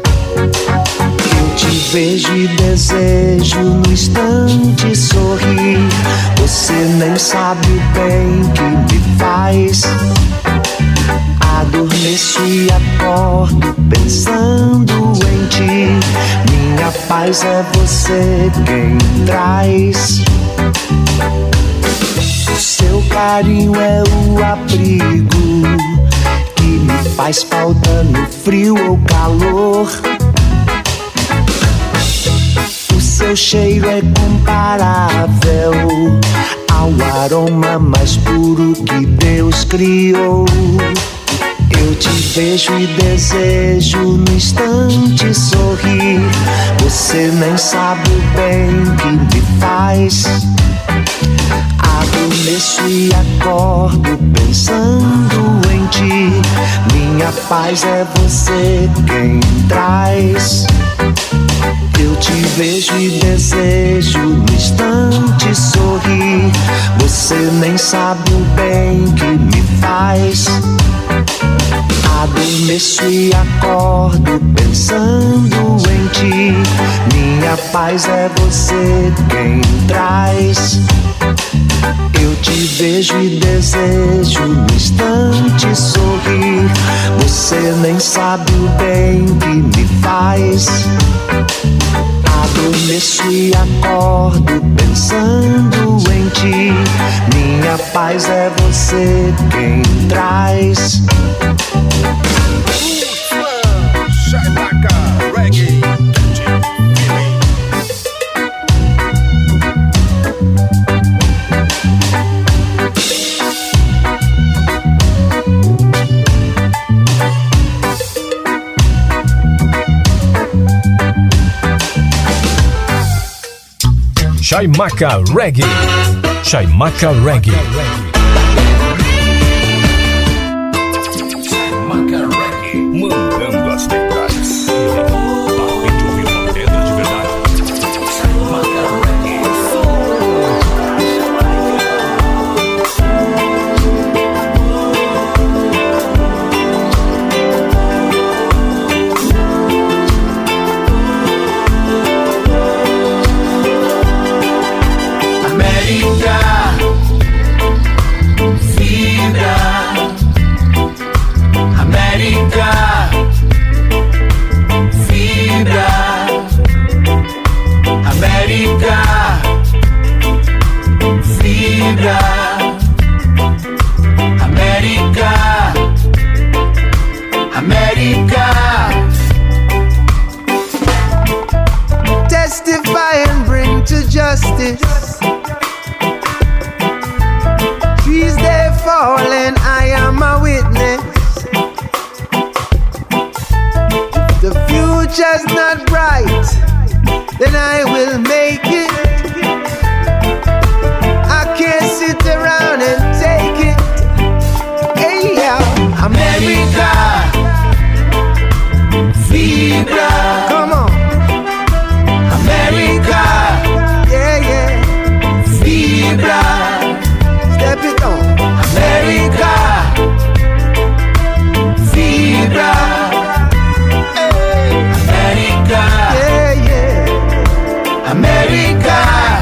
Eu te vejo e desejo no instante sorrir. Você nem sabe o bem que me faz. Adormeço e acordo pensando em ti. Minha paz é você quem traz. Seu carinho é o abrigo que me faz falta no frio ou calor. O seu cheiro é comparável ao aroma mais puro que Deus criou. Eu te vejo e desejo no instante sorrir. Você nem sabe o bem que me faz. Adormeço e acordo pensando em ti. Minha paz é você quem traz. Eu te vejo e desejo no instante sorrir. Você nem sabe o bem que me faz. Adormeço e acordo pensando em ti. Minha paz é você quem traz. Eu te vejo e desejo no instante sorrir. Você nem sabe o bem que me faz. Adormeço e acordo pensando em ti. Minha paz é você quem traz. Chaimaca Reggae. Chaimaca Reggae. Chaimaca Reggae. Chaimaca Reggae. Mandando as pedras. Parem de ouvir uma pedra de verdade. Chaimaca Reggae. América, America. Testify and bring to justice. Trees they fall and I am a witness. The future's not bright, then I will make it. I can't sit around and take it. Hey, yeah. America, Vibra. Come on. America, yeah, yeah. Vibra. Step it on. America, Vibra. Hey. America, yeah, yeah. America.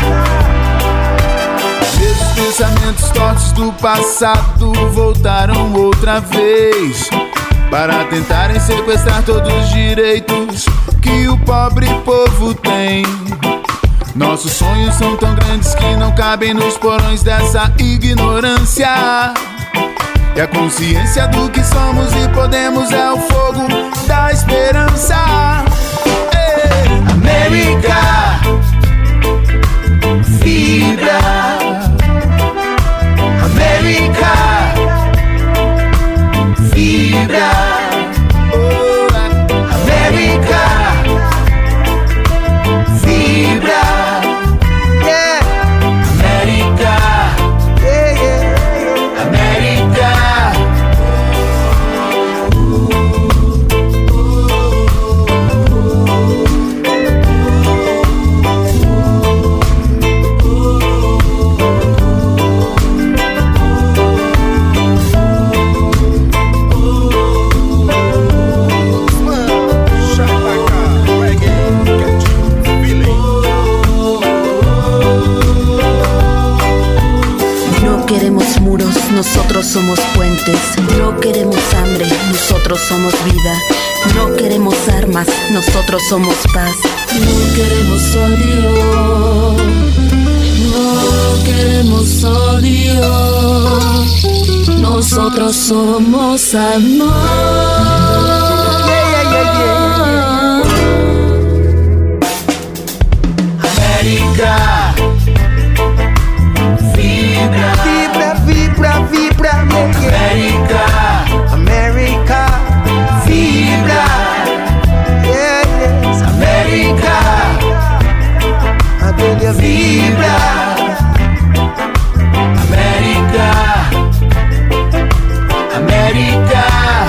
Esses pensamentos tortos do passado voltaram outra vez para tentarem sequestrar todos os direitos que o pobre povo tem. Nossos sonhos são tão grandes que não cabem nos porões dessa ignorância. E a consciência do que somos e podemos é o fogo da esperança. Hey! América, Vibra. América, Vibra. Oh, América, Vibra. Yeah. América, yeah, yeah. América. Nosotros somos puentes, no queremos hambre, nosotros somos vida. No queremos armas, nosotros somos paz. No queremos odio, no queremos odio. Nosotros somos amor. Yeah, yeah, yeah, yeah. América, vibra. Vibra, vibra, América, América, vibra, yeah, yes, América, América, vibra, América, América.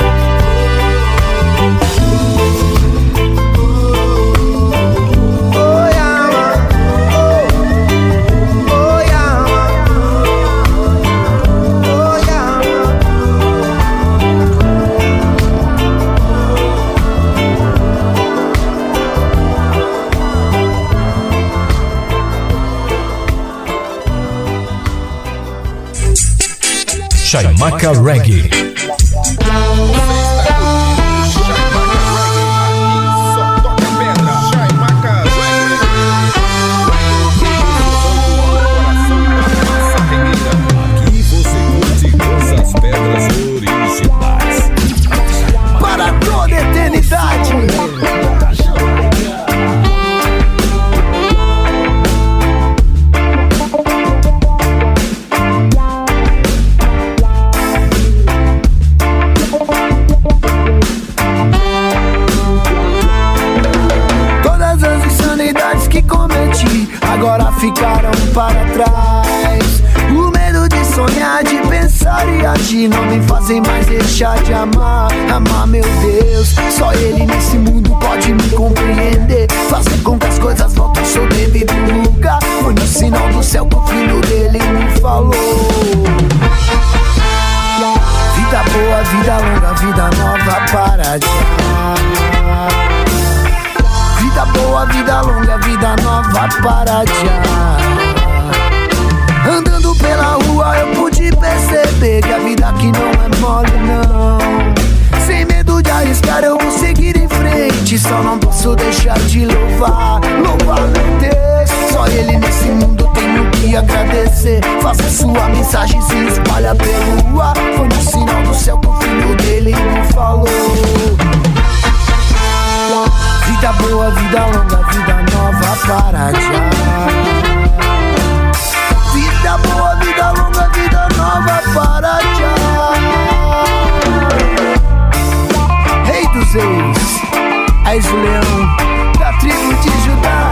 Chaimaca Reggae. Aqui você curte com as pedras originais. Para toda a eternidade. Agora ficaram para trás. O medo de sonhar, de pensar e agir não me fazem mais deixar de amar. Amar, meu Deus, só Ele nesse mundo pode me compreender. Fazer com que as coisas voltem ao seu devido lugar. Foi no sinal do céu que o filho dele me falou. Vida boa, vida longa, vida nova para já. Vida boa, vida longa, vida nova para já. Andando pela rua eu pude perceber que a vida aqui não é mole não. Sem medo de arriscar eu vou seguir em frente. Só não posso deixar de louvar, louvar meu Deus. Só Ele nesse mundo tenho que agradecer. Faça sua mensagem se espalha pelo ar. Foi no sinal do céu que o filho dele me falou. boa, vida longa, vida nova para já. Vida boa, vida longa, vida nova para já. Rei dos reis, és o leão da tribo de Judá.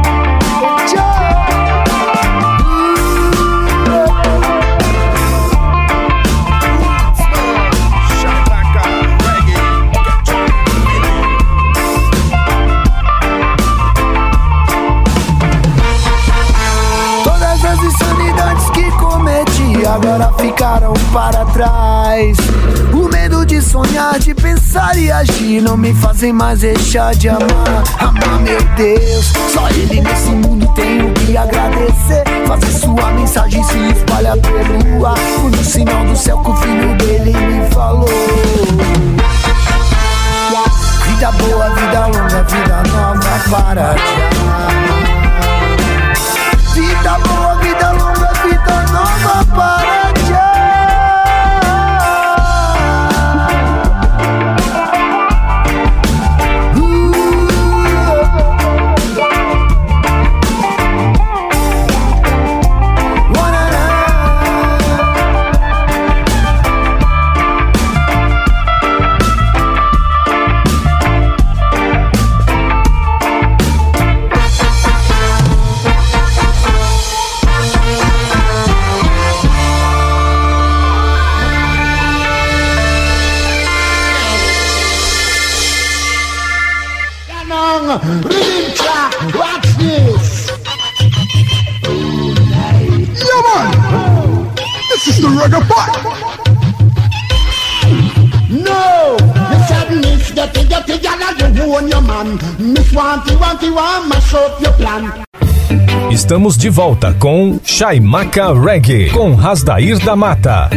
Agora ficaram para trás. O medo de sonhar, de pensar e agir não me fazem mais deixar de amar. Amar, meu Deus, só Ele nesse mundo tenho que agradecer. Fazer sua mensagem se espalhar pelo ar. Foi no sinal do céu que o filho dele me falou. Vida boa, vida longa, vida nova para já. Vida boa, vida longa, vida nova para já. Watch this! Oh, nice. Yeah, man! This is the reggae part! No! The sadness that you get together, you own your man. Miss Wanty, mash up your plan. Estamos de volta com Chaimaca Reggae, com Rasdair da Mata.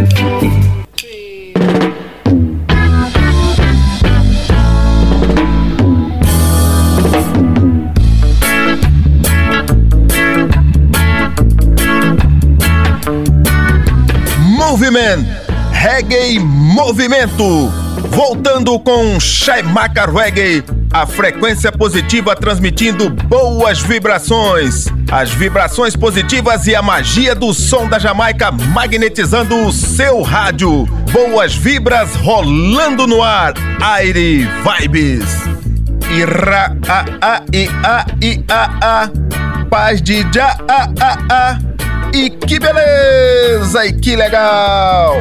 Movimento, Reggae Movimento, voltando com Chaimaca Reggae, a frequência positiva transmitindo boas vibrações, as vibrações positivas e a magia do som da Jamaica magnetizando o seu rádio, boas vibras rolando no ar, Aire Vibes, Ira a a i a i a a, paz de já a. E que beleza, e que legal!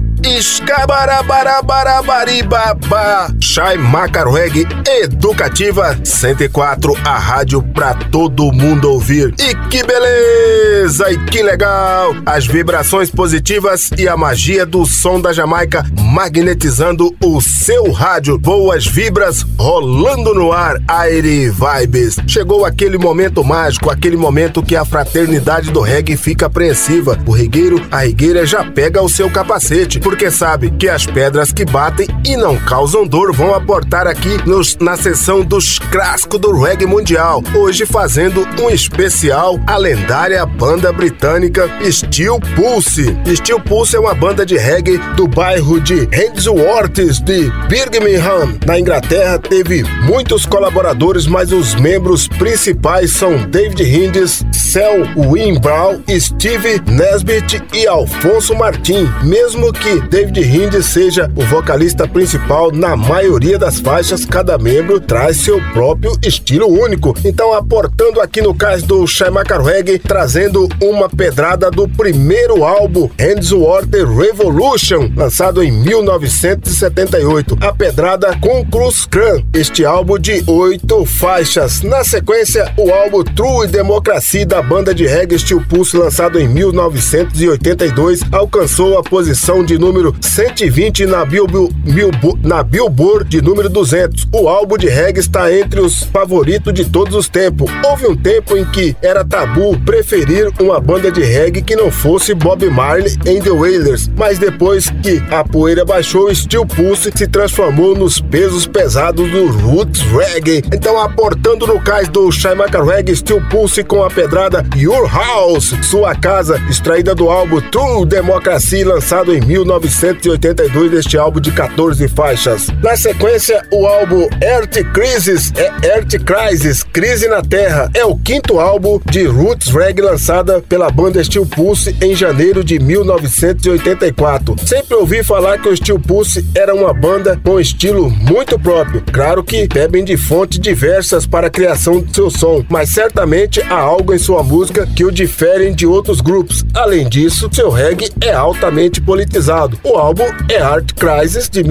Escabarabarabarabaribaba, Chaimaca Reggae Educativa 104, a rádio pra todo mundo ouvir. E que beleza, e que legal! As vibrações positivas e a magia do som da Jamaica magnetizando o seu rádio. Boas vibras rolando no ar, Aire Vibes. Chegou aquele momento mágico, aquele momento que a fraternidade do reggae fica apreensiva. O regueiro, a regueira já pega o seu capacete, porque sabe que as pedras que batem e não causam dor vão aportar aqui na sessão dos clássicos do reggae mundial. Hoje fazendo um especial a lendária banda britânica Steel Pulse. Steel Pulse é uma banda de reggae do bairro de Handsworth de Birmingham, na Inglaterra. Teve muitos colaboradores, mas os membros principais são David Hindis, Selwyn Brown, Steve Nesbitt e Alfonso Martin. Mesmo que David Hindis seja o vocalista principal na maioria das faixas, cada membro traz seu próprio estilo único. Então, aportando aqui no cais do Chaimaca Reggae, trazendo uma pedrada do primeiro álbum Handsworth Revolution, lançado em 1978. A pedrada Conclus Cran, este álbum de 8 faixas. Na sequência, o álbum True Democracy da banda de reggae Steel Pulse, lançado em 1982, alcançou a posição de número 120 na Billboard de número 200. O álbum de reggae está entre os favoritos de todos os tempos. Houve um tempo em que era tabu preferir uma banda de reggae que não fosse Bob Marley and the Wailers, mas depois que a poeira baixou, Steel Pulse se transformou nos pesos pesados do Roots Reggae. Então, aportando no cais do Chaimaca Reggae, Steel Pulse com a pedrada Your House, Sua Casa, extraída do álbum True Democracy, lançado em 1982. 1982 deste álbum de 14 faixas. Na sequência, o álbum Earth Crisis, Crise na Terra, é o quinto álbum de roots reggae lançada pela banda Steel Pulse em janeiro de 1984. Sempre ouvi falar que o Steel Pulse era uma banda com estilo muito próprio. Claro que bebem de fontes diversas para a criação do seu som, mas certamente há algo em sua música que o diferem de outros grupos. Além disso, seu reggae é altamente politizado. O álbum Earth Crisis de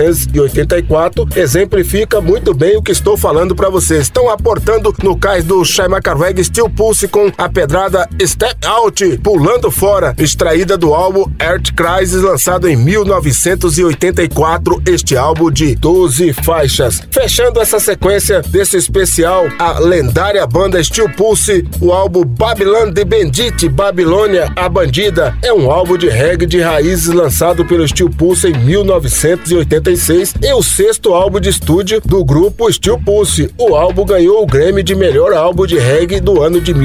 1984 exemplifica muito bem o que estou falando para vocês. Estão aportando no cais do Chaimaca Reggae Steel Pulse com a pedrada Step Out, Pulando Fora, extraída do álbum Earth Crisis, lançado em 1984, este álbum de 12 faixas. Fechando essa sequência desse especial, a lendária banda Steel Pulse, o álbum Babylon The Bandit, Babilônia, a Bandida, é um álbum de reggae de raízes lançado pelo Steel Pulse em 1986 e o sexto álbum de estúdio do grupo Steel Pulse. O álbum ganhou o Grammy de melhor álbum de reggae do ano de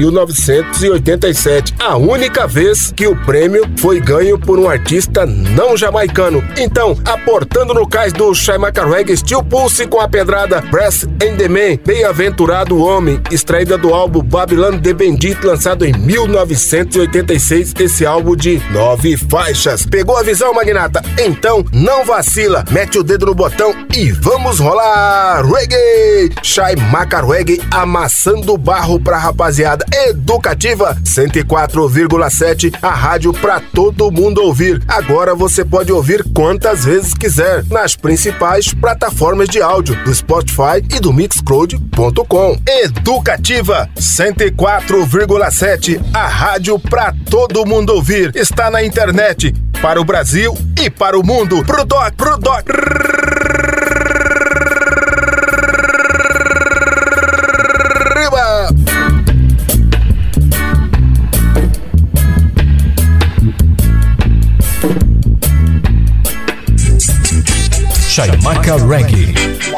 1987, a única vez que o prêmio foi ganho por um artista não jamaicano. Então, aportando no cais do Chaimaca Reggae Steel Pulse com a pedrada Breath in the Man, Bem-aventurado o Homem, extraída do álbum Babylon The Bandit, lançado em 1986, esse álbum de 9 faixas. Pegou a visão, magnata? Então não vacila, mete o dedo no botão e vamos rolar reggae! Chaimaca Reggae amassando barro pra rapaziada. Educativa 104,7, a rádio pra todo mundo ouvir. Agora você pode ouvir quantas vezes quiser nas principais plataformas de áudio do Spotify e do Mixcloud.com. Educativa 104,7, a rádio pra todo mundo ouvir. Está na internet para o Brasil e para o mundo. Pro doc. Chaimaca Reggae.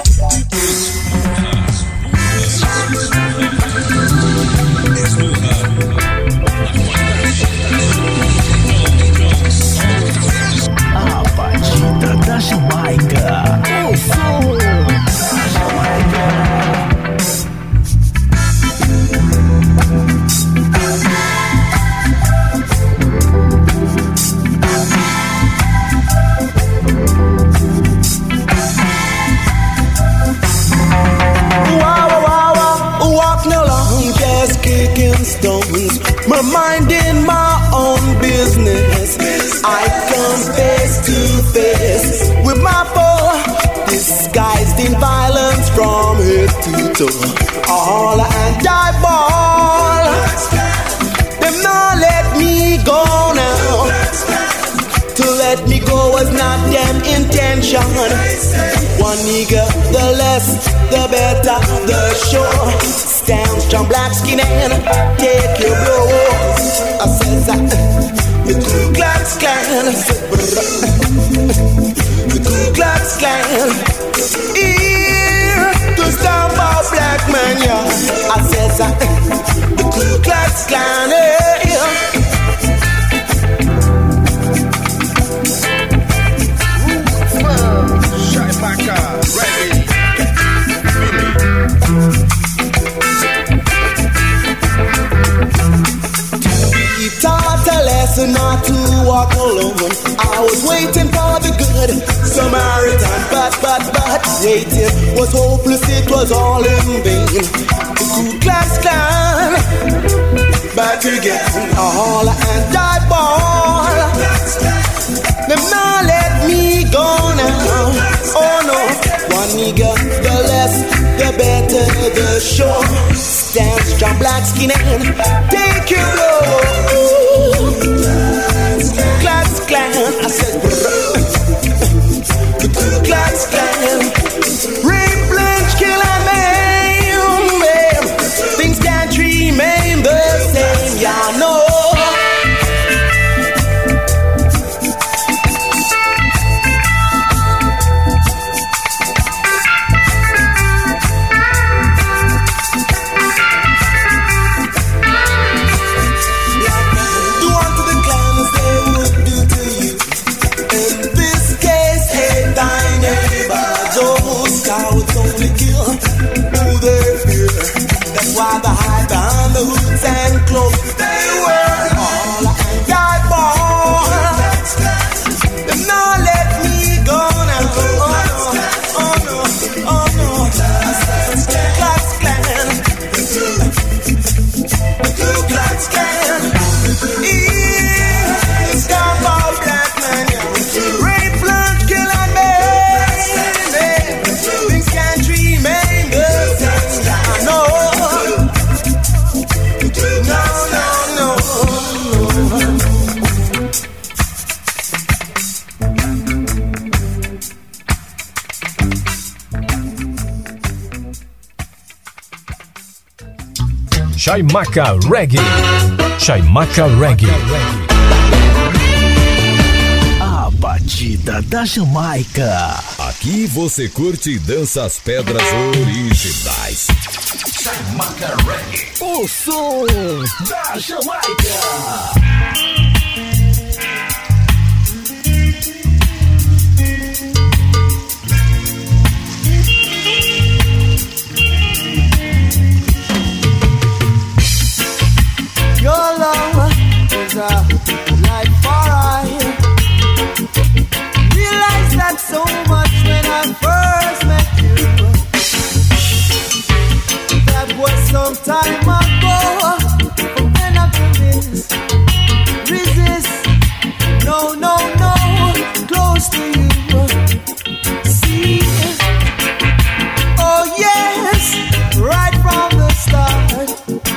A batida da Jamaica. O som da Jamaica. Stones, my mind in my own business. I come face to face with my foe, disguised in violence from head to toe. All and I ball, them not let me go now. To let me go was not them intention. One nigga, the less, the better, the sure. Stand strong, black skin and take your blow. I says that the Ku Klux Klan, the Ku Klux Klan, here to stop our black man, yeah. I says that the Ku Klux Klan, yeah. Chaimaca Reggae. Taught a lesson not to walk alone. I was waiting for the good Samaritan, but waiting was hopeless, it was all in vain. The Ku Klux Klan, back again, all and die ball. Them not let me go now. Oh no, one nigga, the less, the better, the sure. Stand strong, black skin and take your blow. Klux Klan, I said, the Ku Klux Klan, rape, lynch, kill and maim. Things can't remain the same, y'all know. now it's only kill who they fear. That's why they hide behind the hoods and clothes. They wear all I die for. Them not let me go now. Oh no, oh no. Klux Klan, Ku Klux Klan. It's got all black men. Rape, blood, kill and maim. Things can't remain the same. No, no, no, no. Chaimaca Reggae. Chaimaca Reggae. A batida da Jamaica. Aqui você curte e dança as pedras originais. Chaimaca Reggae. O som da Jamaica. Your love is a light for I. Realized that so much when I first met you. That was some time ago. But when I couldn't resist, no, no, no, close to you. See, oh yes, right from the start.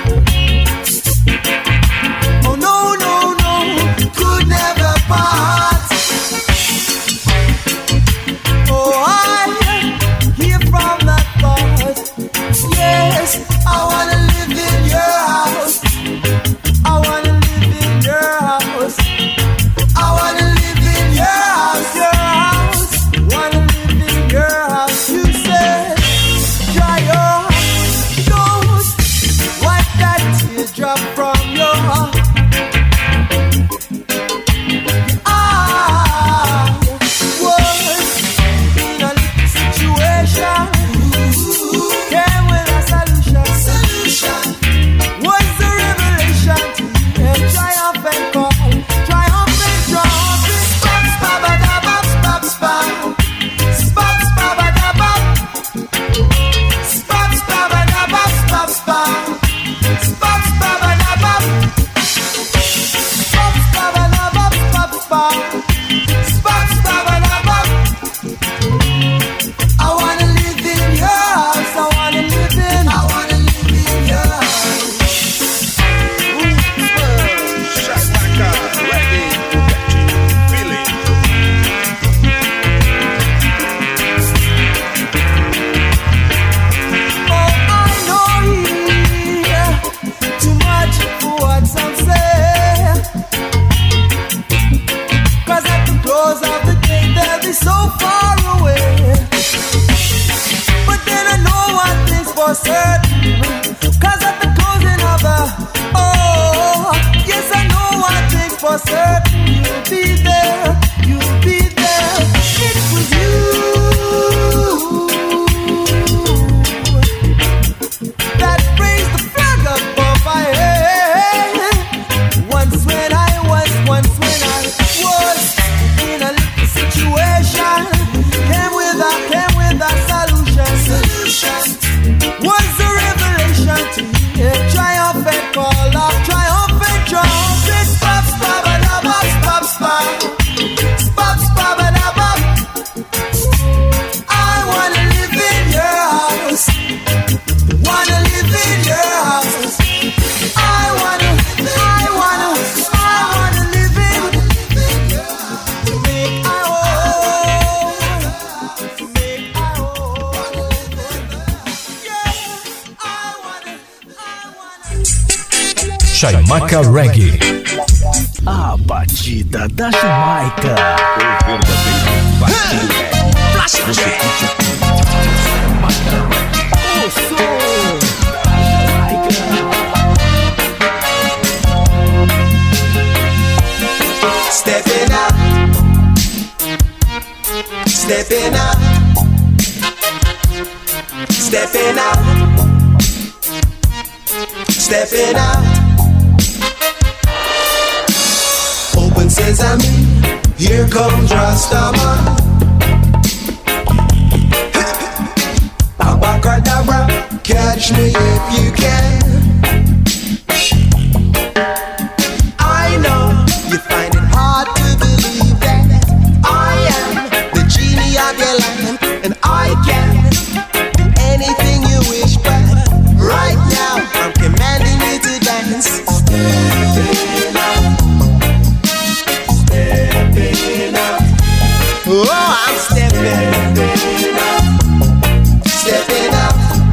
I wanna live in your house. I wanna live in your house. I wanna live in your house, your house. Wanna live in your house. You said, dry your nose, wipe that teardrop from your heart. I was in a little situation. Came with a solution. What's the revelation? And triumphant call, triumphant drop. Spop, spabadabab, spop, spop. Spop, spabadabab. Spop, spabadabab, spop, spop. Spop, spabadabab. Spop, spabadabab, spop, spop. Spop, spabadabab. I wanna live in your house. I wanna live in your house. Chaimaca Reggae, feeling. Oh, I know yeah, too much for what some say. 'Cause at the close of the day they'll be so far away. But then I know one thing's for certain. 'Cause at the closing of the yes, I know one thing's for certain. You'll be there, you'll be there. It was you that raised the flag above my head. Once when I was in a little situation. Came with a solution. Was the revelation to me. Triumphant call of triumphant trumpet. Spop, spabadabab, spop, spop. Spop, spabadabab. I wanna live in your house. Wanna live in your house. I wanna live in to make I whole. To make I whole. Yeah, I wanna. Chaimaca Reggae. A batida da Jamaica. O verdadeiro batida é. Você curte Chaimaca Reggae. O som da Jamaica. Stepping up. Stepping up. Stepping out, stepping out. Open sesame, here comes Rastaman. Abacadabra, catch me if you can. I know you find it hard to believe that I am the genie of your lamp, and I can do anything you wish, but right now I'm commanding you to dance. Stepping out, stepping out. Oh, I'm stepping out, stepping out.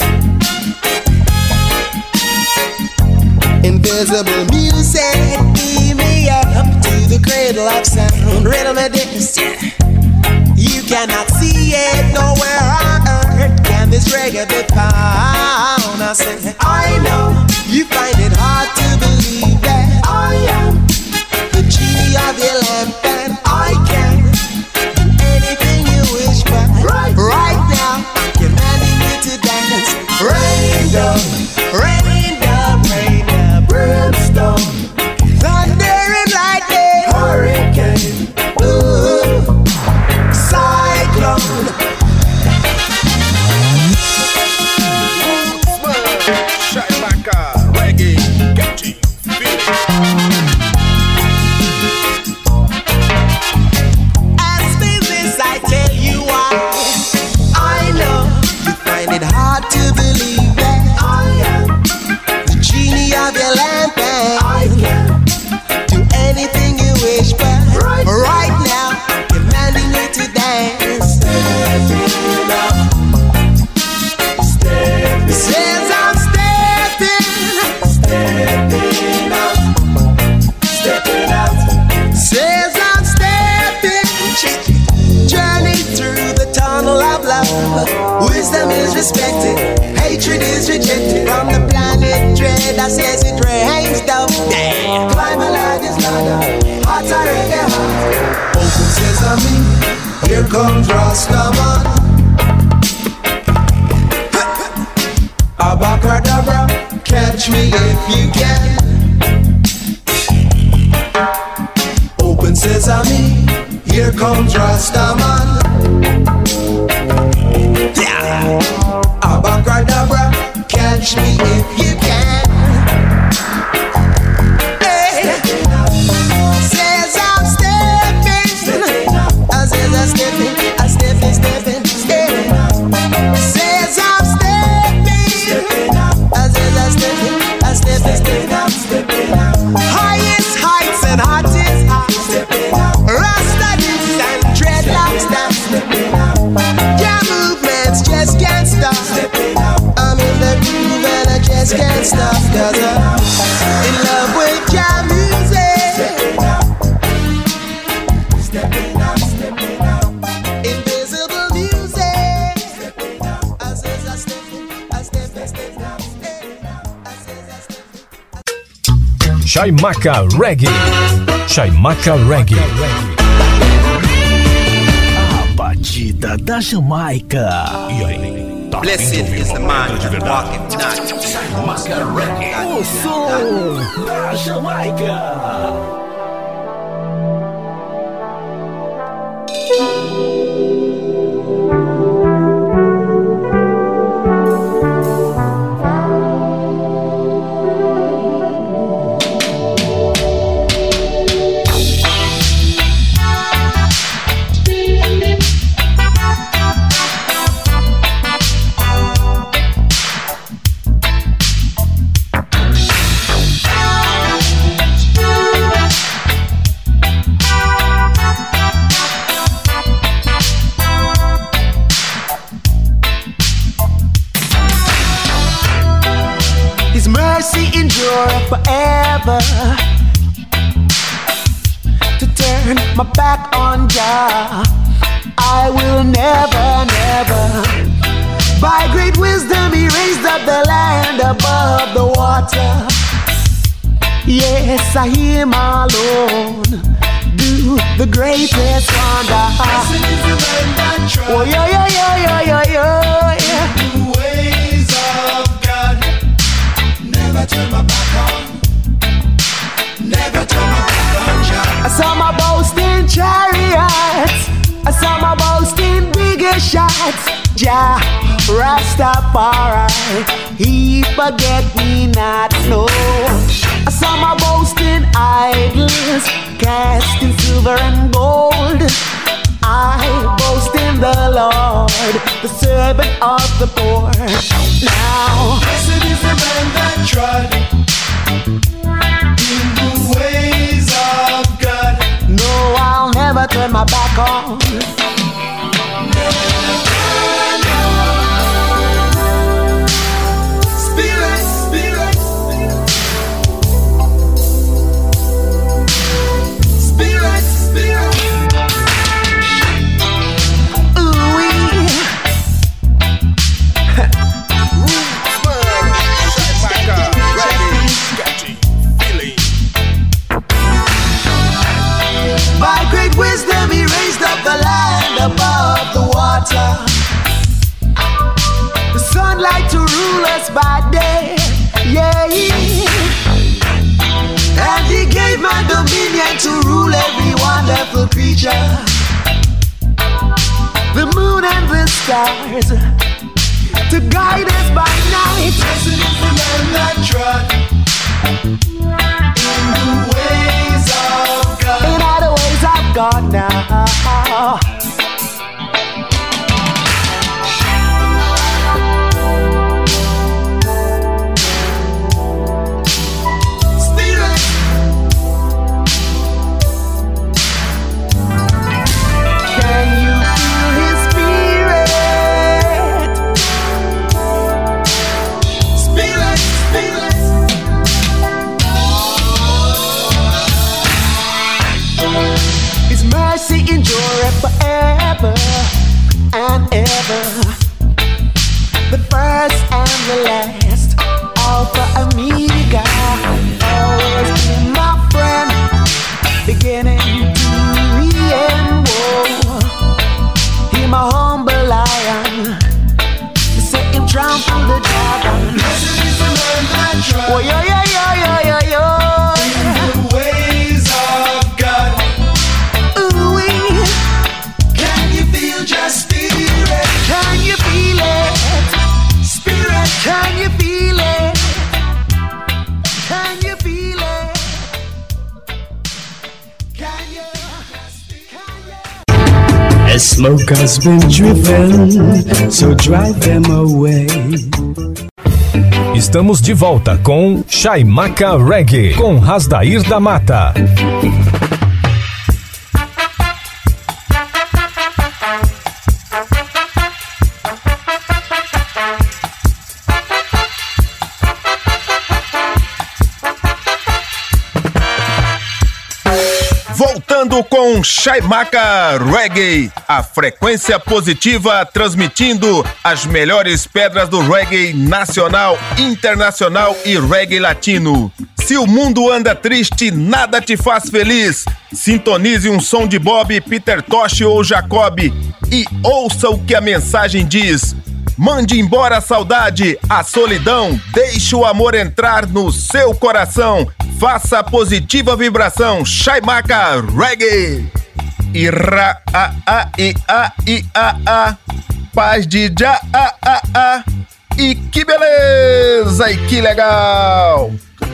Invisible music, beam me up to the cradle of sound. Rhythm and dance, yeah. You cannot see it nowhere on earth. Can this reggae be found? I said, I know you find it hard to believe that I am the genie of your lamp, and I can do anything you wish, but right now I'm commanding you to dance. Rain down, rain down, rain down, brimstone, thunder and lightning, hurricane, ooh, cyclone. Shine Maka Reggae, catchy, feel. As business, I tell you why. I know you find it hard to believe that I am the genie of your lamp, and I can do anything you wish, but right now I'm commanding you to dance. Stepping out, stepping. Says I'm stepping, stepping out, stepping out. Says I'm stepping. Journey through the tunnel of love. Wisdom is respected, hatred is rejected. From the planet dread, I says it rains down. Climb a ladder's ladder, hearts are in their heart. Open sesame, here comes Rastaman. Abacadabra, catch me if you can. Open sesame, here comes Rastaman. Yeah. Abacadabra, catch me if you can. Hey. Says I'm stepping. I says I'm stepping. I'm stepping, stepping, stepping. Says I'm stepping. I says I'm stepping. I'm stepping, stepping, highest heights and hottest heights. Rasta dance and dreadlocks dance. Your movements just can't stop. I'm in the groove and I just can't stop, 'cause I'm in love with your music. Stepping out, stepping out. Invisible music. I says I'm stepping, I'm stepping, stepping out. Chaimaca Reggae. Chaimaca Reggae. A batida da Jamaica. E aí? Tá Blessed is the man that walketh not. Chaimaca Reggae. O som da Jamaica. Forever to turn my back on Jah, I will never, never. By great wisdom he raised up the land above the water. Yes, I hear him alone do the greatest wonder. Oh, yeah, yeah, yeah, yeah, yeah, yeah. Jah Rastafari, he forget me not, no. Some are boasting idols, cast in silver and gold. I boast in the Lord, the servant of the poor. Now, blessed is the man that trod in the ways of God. No, I'll never turn my back on. Spirit, spirit, spirit, spirit. By great wisdom he raised up the land above the water, the sunlight to rule us by day, yeah. And he gave man dominion to rule every wonderful creature, the moon and the stars, to guide us by night. Blessed is the man that trod in the ways of God. In all the ways of God now. Spirit. Can you feel his spirit? Spirit, spirit. His mercy endureth forever and ever. The first and the last, Alpha Omega. Always be my friend, beginning to the end. Whoa, he my humble lion, set him trample the dragon. Blessed is the man that trod Oh, yo, yo, yo, yo, yo, yo. in the ways of God. Ooh-wee. Can you feel just spirit? Can you feel it? Spirit, can you feel it? Can you feel it? Can you? As smoke has been driven, so drive them away. Estamos de volta com Chaimaca Reggae, com Rasdair da Mata. Voltando com Chaimaca Reggae, a frequência positiva transmitindo as melhores pedras do reggae nacional, internacional e reggae latino. Se o mundo anda triste, nada te faz feliz. Sintonize um som de Bob, Peter Tosh ou Jacob e ouça o que a mensagem diz. Mande embora a saudade, a solidão, deixe o amor entrar no seu coração. Faça a positiva vibração, Chaimaca Reggae. Ira a a i a i a, paz de já a. E que beleza, e que legal!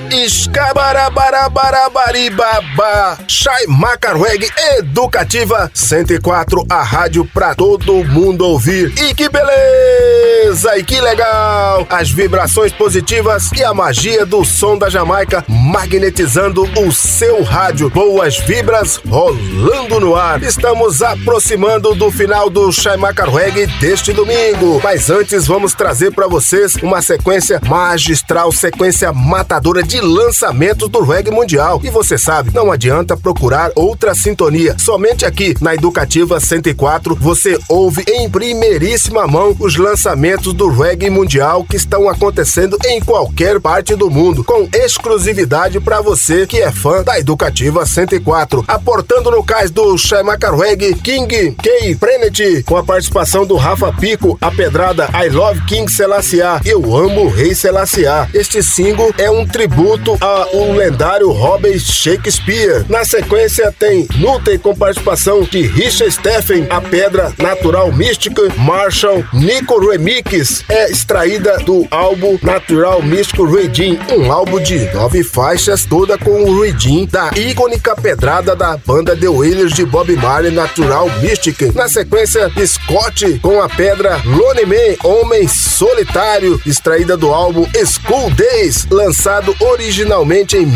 Escabarabarabarabaribaba, Chaimaca Reggae Educativa 104, a rádio pra todo mundo ouvir. E que beleza, e que legal! As vibrações positivas e a magia do som da Jamaica magnetizando o seu rádio. Boas vibras rolando no ar. Estamos aproximando do final do Chaimaca Reggae deste domingo. Mas antes vamos trazer pra vocês uma sequência magistral, sequência matadora de lançamentos do reggae mundial. E você sabe, não adianta procurar outra sintonia. Somente aqui na Educativa 104 você ouve em primeiríssima mão os lançamentos do reggae mundial que estão acontecendo em qualquer parte do mundo, com exclusividade para você que é fã da Educativa 104. Aportando no cais do Chaimaca Reggae, King K. Prenet, com a participação do Rafa Pico, a pedrada I Love King Selassie, Eu Amo o Rei Selassie. Este single é um tributo tributo ao lendário Robert Shakespeare. Na sequência tem Nutem com participação de Richard Stephen, A Pedra Natural Mística. Marshall Nico Remix é extraída do álbum Natural Místico Redeem, um álbum de 9 faixas, toda com o Redeem da icônica pedrada da banda The Wailers de Bob Marley, Natural Mystic. Na sequência, Scott com A Pedra Lonely Man, Homem Solitário, extraída do álbum School Days, lançado originalmente em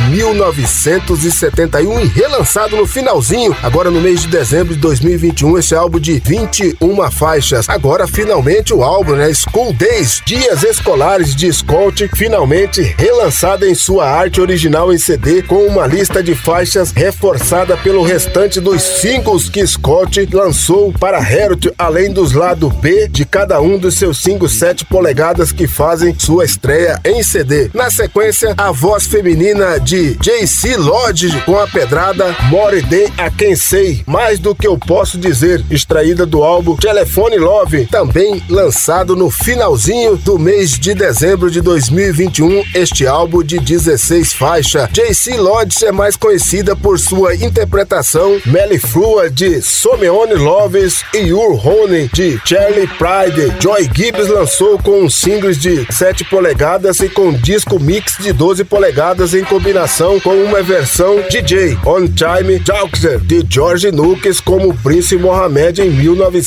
1971 e relançado no finalzinho, agora no mês de dezembro de 2021, esse álbum de 21 faixas. Agora, finalmente, o álbum, School Days, Dias Escolares de Scott, finalmente relançado em sua arte original em CD, com uma lista de faixas reforçada pelo restante dos singles que Scott lançou para Heritage, além dos lados B de cada um dos seus singles 7 polegadas que fazem sua estreia em CD. Na sequência, a voz feminina de JC Lodge com a pedrada More Than I Can Say, Mais do que eu posso dizer, extraída do álbum Telephone Love, também lançado no finalzinho do mês de dezembro de 2021, este álbum de 16 faixas. JC Lodge é mais conhecida por sua interpretação Melliflua de Someone Loves e Your Honey de Charlie Pride. Joy Gibbs lançou com singles de 7 polegadas e com disco mix de 12 polegadas em combinação com uma versão DJ On Time Jalkzer de George Nunes como Prince Mohammed em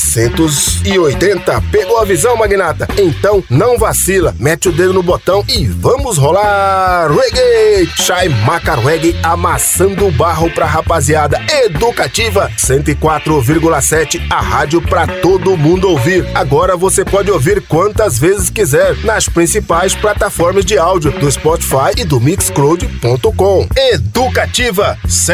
1980. Pegou a visão, magnata? Então não vacila, mete o dedo no botão e vamos rolar reggae! Shai Maca Reggae amassando o barro pra rapaziada. Educativa 104,7, a rádio pra todo mundo ouvir. Agora você pode ouvir quantas vezes quiser nas principais plataformas de áudio do Spotify e do Mixcloud.com. Educativa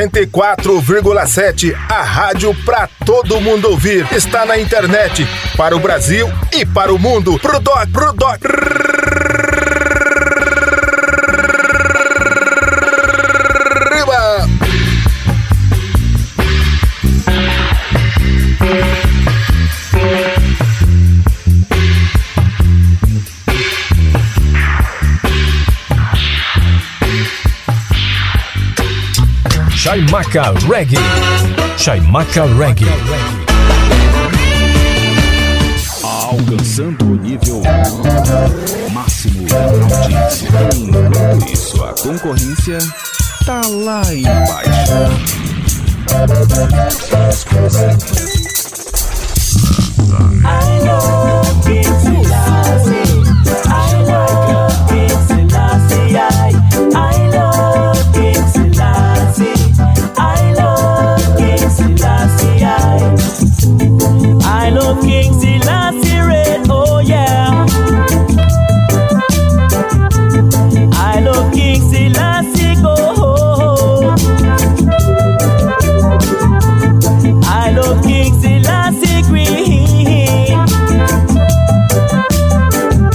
104,7, a rádio pra todo mundo ouvir. Está na internet para o Brasil e para o mundo. Pro doc. Shai Maca Reggae. Shai Maca Reggae. Alcançando o nível máximo da audiência. Enquanto isso, a concorrência tá lá embaixo. I love King Selassie. I love King Selassie. I love King Selassie. I love King Selassie. I love King Selassie Red. Oh yeah. I love King Selassie Gold. I love King Selassie Green.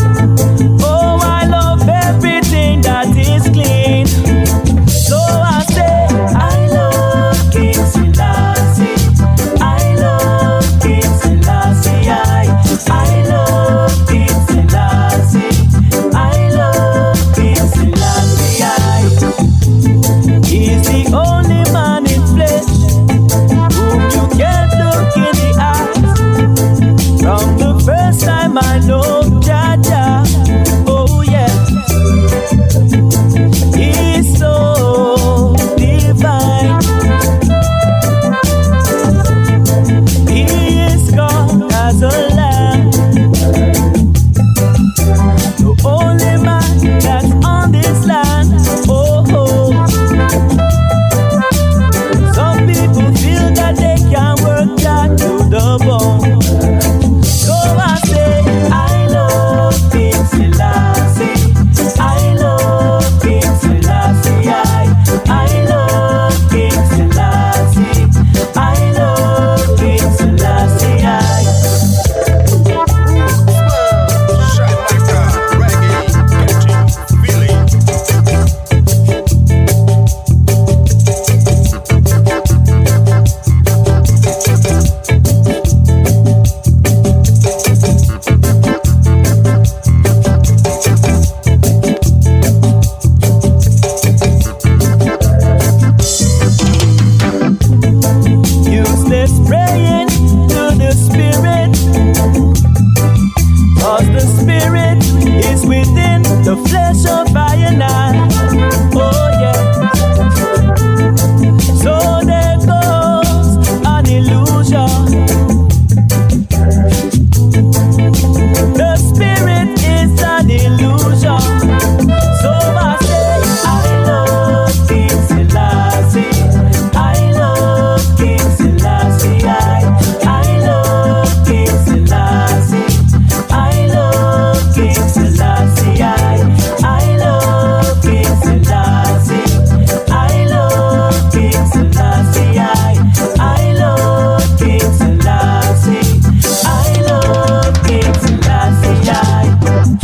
King Selassie. I love King Selassie. I love King Selassie. I love King Selassie. I love King Selassie.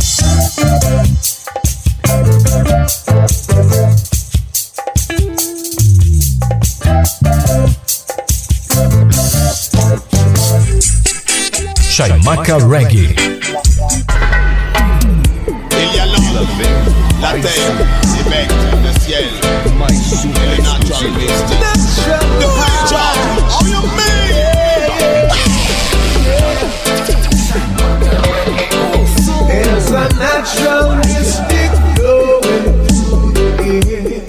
Chaimaca Reggae. Il y a l'homme, la terre, les mecs, le ciel, et le naturaliste. How you mean? There's a natural mystic going through the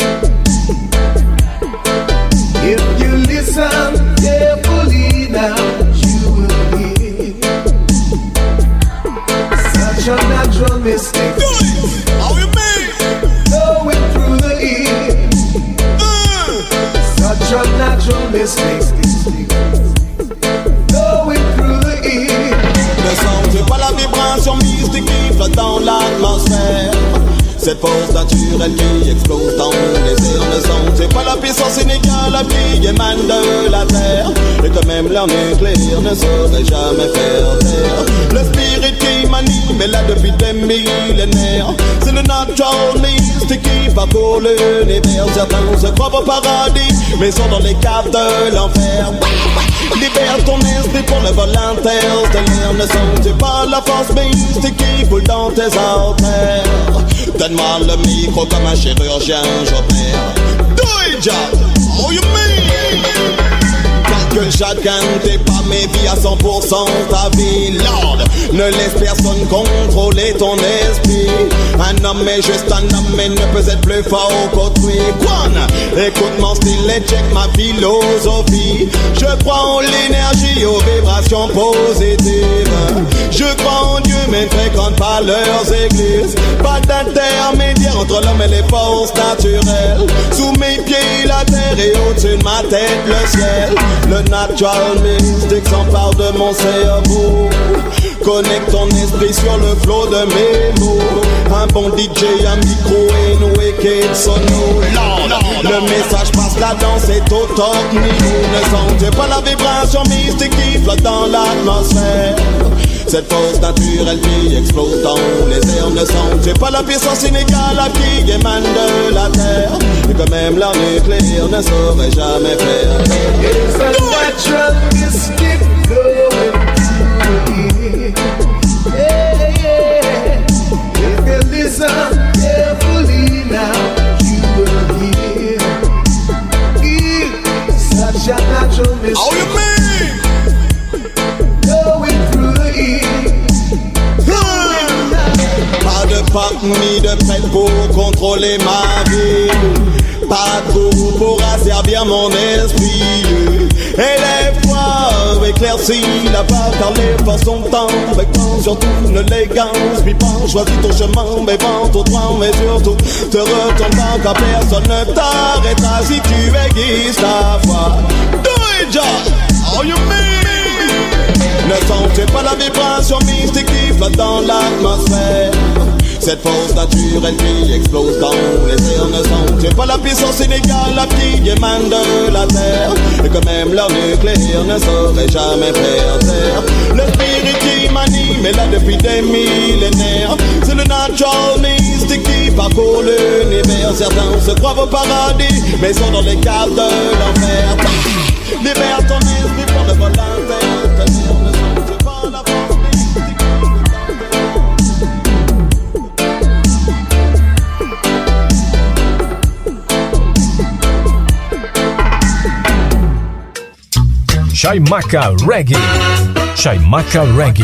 air. If you listen carefully now, you will hear such a natural mystic. How you mean? Going through the air. Such a natural mystic. Going through the air. Le son, c'est pas la vibration mystique qui flotte dans l'atmosphère. Cette force naturelle qui explose dans les airs. Le son, c'est pas la puissance inégale qui émane de la terre. Et que même leur nucléaire ne saurait jamais faire taire. Le spirit qui m'anime est là depuis des millénaires. C'est le natural mystique qui parcourt l'univers. Certains se croient au paradis, mais sont dans les caves de l'enfer. Libère ton esprit pour le vol interstellaire. Ne sens-tu pas la force mystique qui coule dans tes artères? Donne-moi le micro comme un chirurgien, j'opère. Do it, job! Oh, you mean? Que chacun t'ait pas mes vies à 100% ta vie, Lord. Ne laisse personne contrôler ton esprit. Un homme est juste un homme et ne peut être plus fort qu'autrui. Quan, écoute mon style et check ma philosophie. Je crois en l'énergie, aux vibrations positives. Je crois en Dieu mais ne fréquente pas leurs églises. Pas d'intermédiaire entre l'homme et les forces naturelles. Sous mes pieds la terre et au-dessus de ma tête le ciel. Le natural mystique s'empare de mon cerveau. Connecte ton esprit sur le flot de mes mots. Un bon DJ, un micro et une wicked sono. Le message passe, la danse est au top niveau. Ne sens-tu pas la vibration mystique qui flotte dans l'atmosphère? Cette force naturelle qui explose dans les airs. Ne sens-tu pas la puissance inégale qui émane de la terre? Et que même leur nucléaire ne saurait jamais faire. It's a natural mystic going through the air. Yeah. If you listen carefully now, you will hear such a natural mystic. How you mean? Going through the air. Pas de pape ni de prêtre pour contrôler ma vie. Pas de gourou pour asservir mon esprit. Élève-toi, éclaircis la part car les forces sont temps. Surtout ne l'élégance, puis pas choisis ton chemin, mais vente au droit, mais surtout te retourne pas car personne ne t'arrêtera si tu aiguises ta foi. Do it, John! Oh, you mean? Ne sens-tu pas la vibration mystique qui flotte dans l'atmosphère? Cette force naturelle qui explose dans les airs. Ne sens-tu pas la puissance inégale qui émane de la terre? Et que même leur nucléaire ne saurait jamais faire taire. Le spirit qui m'anime est là depuis des millénaires. C'est le natural mystique qui parcourt l'univers. Certains se croient au paradis, mais sont dans les caves de l'enfer. Libère ton esprit pour le vol interstellaire. Ne sens-tu pas la force mystique? Chaimaca Reggae. Chaimaca Reggae.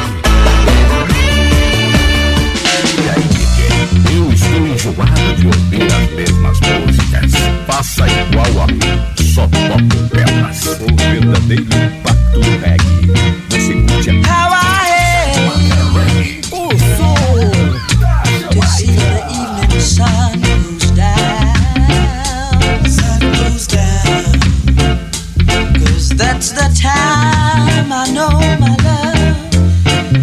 Eu estou enjoado de ouvir as mesmas músicas. Faça igual a mim, só toco pedras. O verdadeiro impacto do reggae. Você curte a How I am. O som. To see the evening sun goes down. Sun goes down. 'Cause that's the time I know my love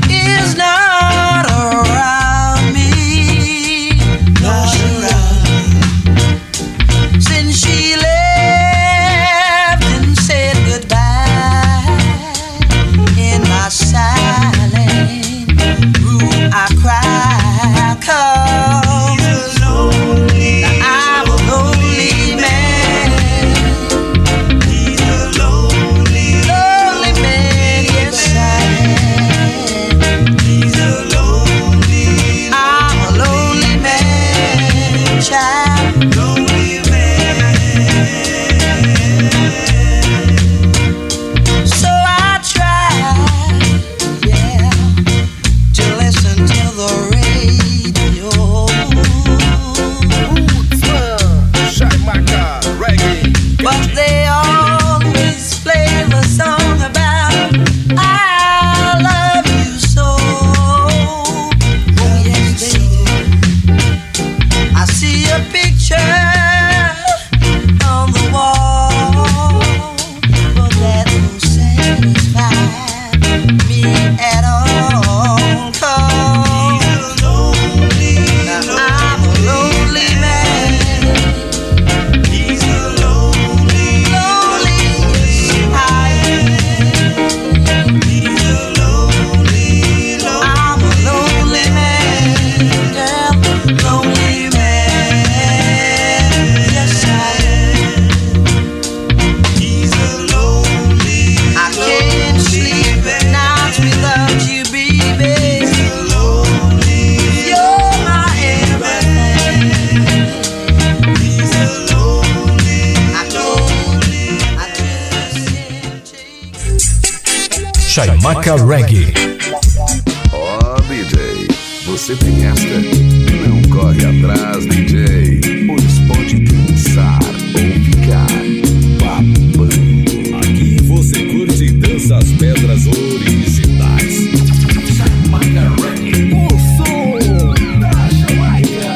Chaimaca Reggae. Ó, DJ, você tem esta? Não corre atrás, DJ, pois pode cansar ou ficar babando. Aqui você curte e dança as pedras originais. Chaimaca Reggae, o som da Jamaica.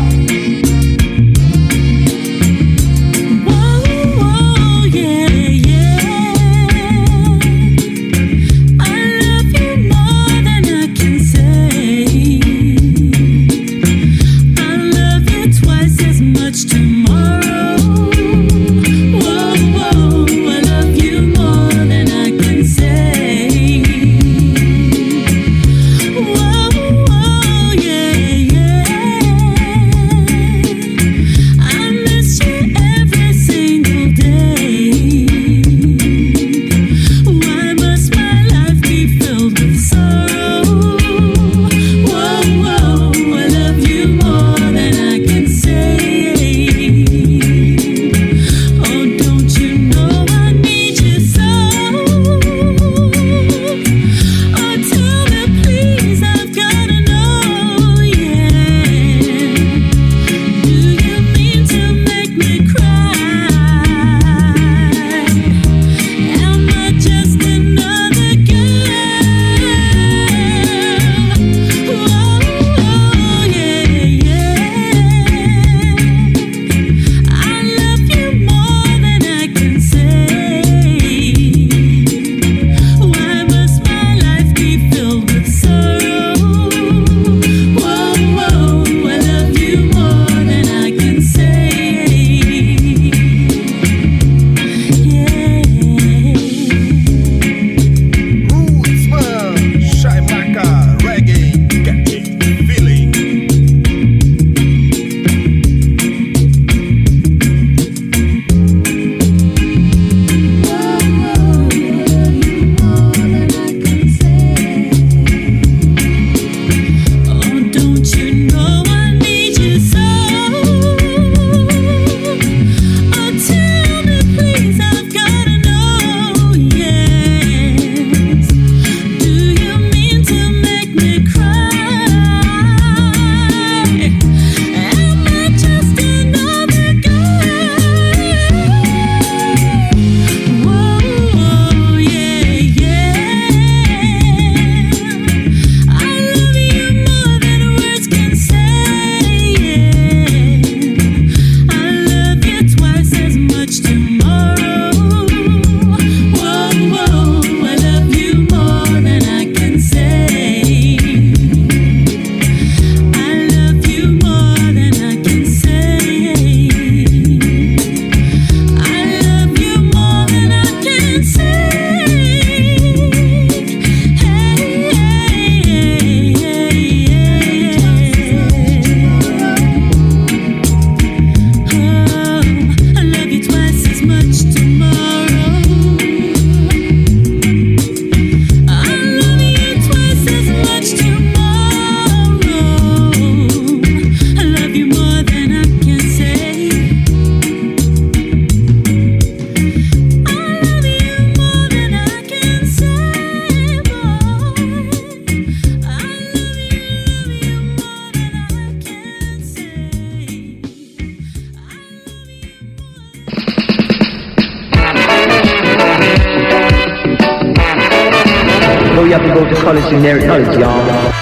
You have to go to college in their knowledge, y'all.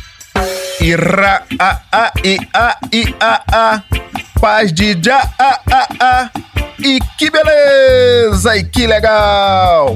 Ira, paz de já, e que beleza, e que legal.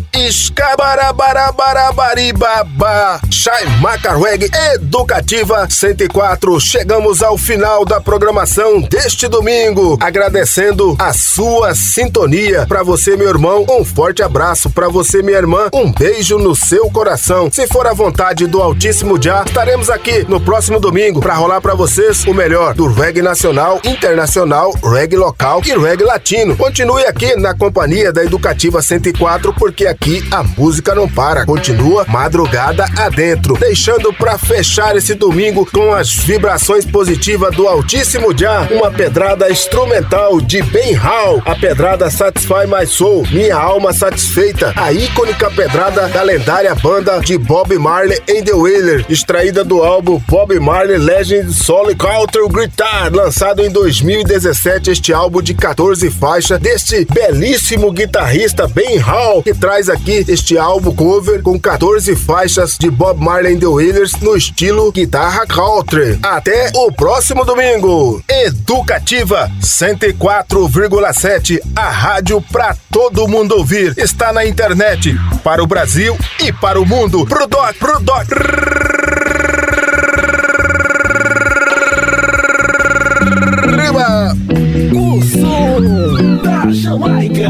Escabarabarabarabaribaba, Chaimaca Reggae Educativa 104. Chegamos ao final da programação deste domingo, agradecendo a sua sintonia. Pra você, meu irmão, um forte abraço. Pra você, minha irmã, um beijo no seu coração. Se for a vontade do Altíssimo Já, estaremos aqui no próximo domingo pra rolar pra vocês o melhor do reggae nacional, internacional, reggae local e reggae latino. Continue aqui na companhia da Educativa 104, porque aqui aqui a música não para, continua madrugada adentro, deixando pra fechar esse domingo com as vibrações positivas do Altíssimo Já, uma pedrada instrumental de Ben Hall, a pedrada Satisfy My Soul, Minha Alma Satisfeita, a icônica pedrada da lendária banda de Bob Marley and the Wailers, extraída do álbum Bob Marley Legend Soul Culture Guitar, lançado em 2017, este álbum de 14 faixas deste belíssimo guitarrista Ben Hall, que traz aqui este álbum cover com 14 faixas de Bob Marley and the Wailers no estilo guitarra country. Até o próximo domingo. Educativa 104,7, a rádio pra todo mundo ouvir. Está na internet, para o Brasil e para o mundo. Pro Doc. Riba! O som da Jamaica.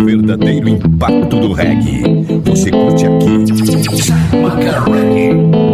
Impacto do reggae. Você curte aqui. Chai Maca Reggae.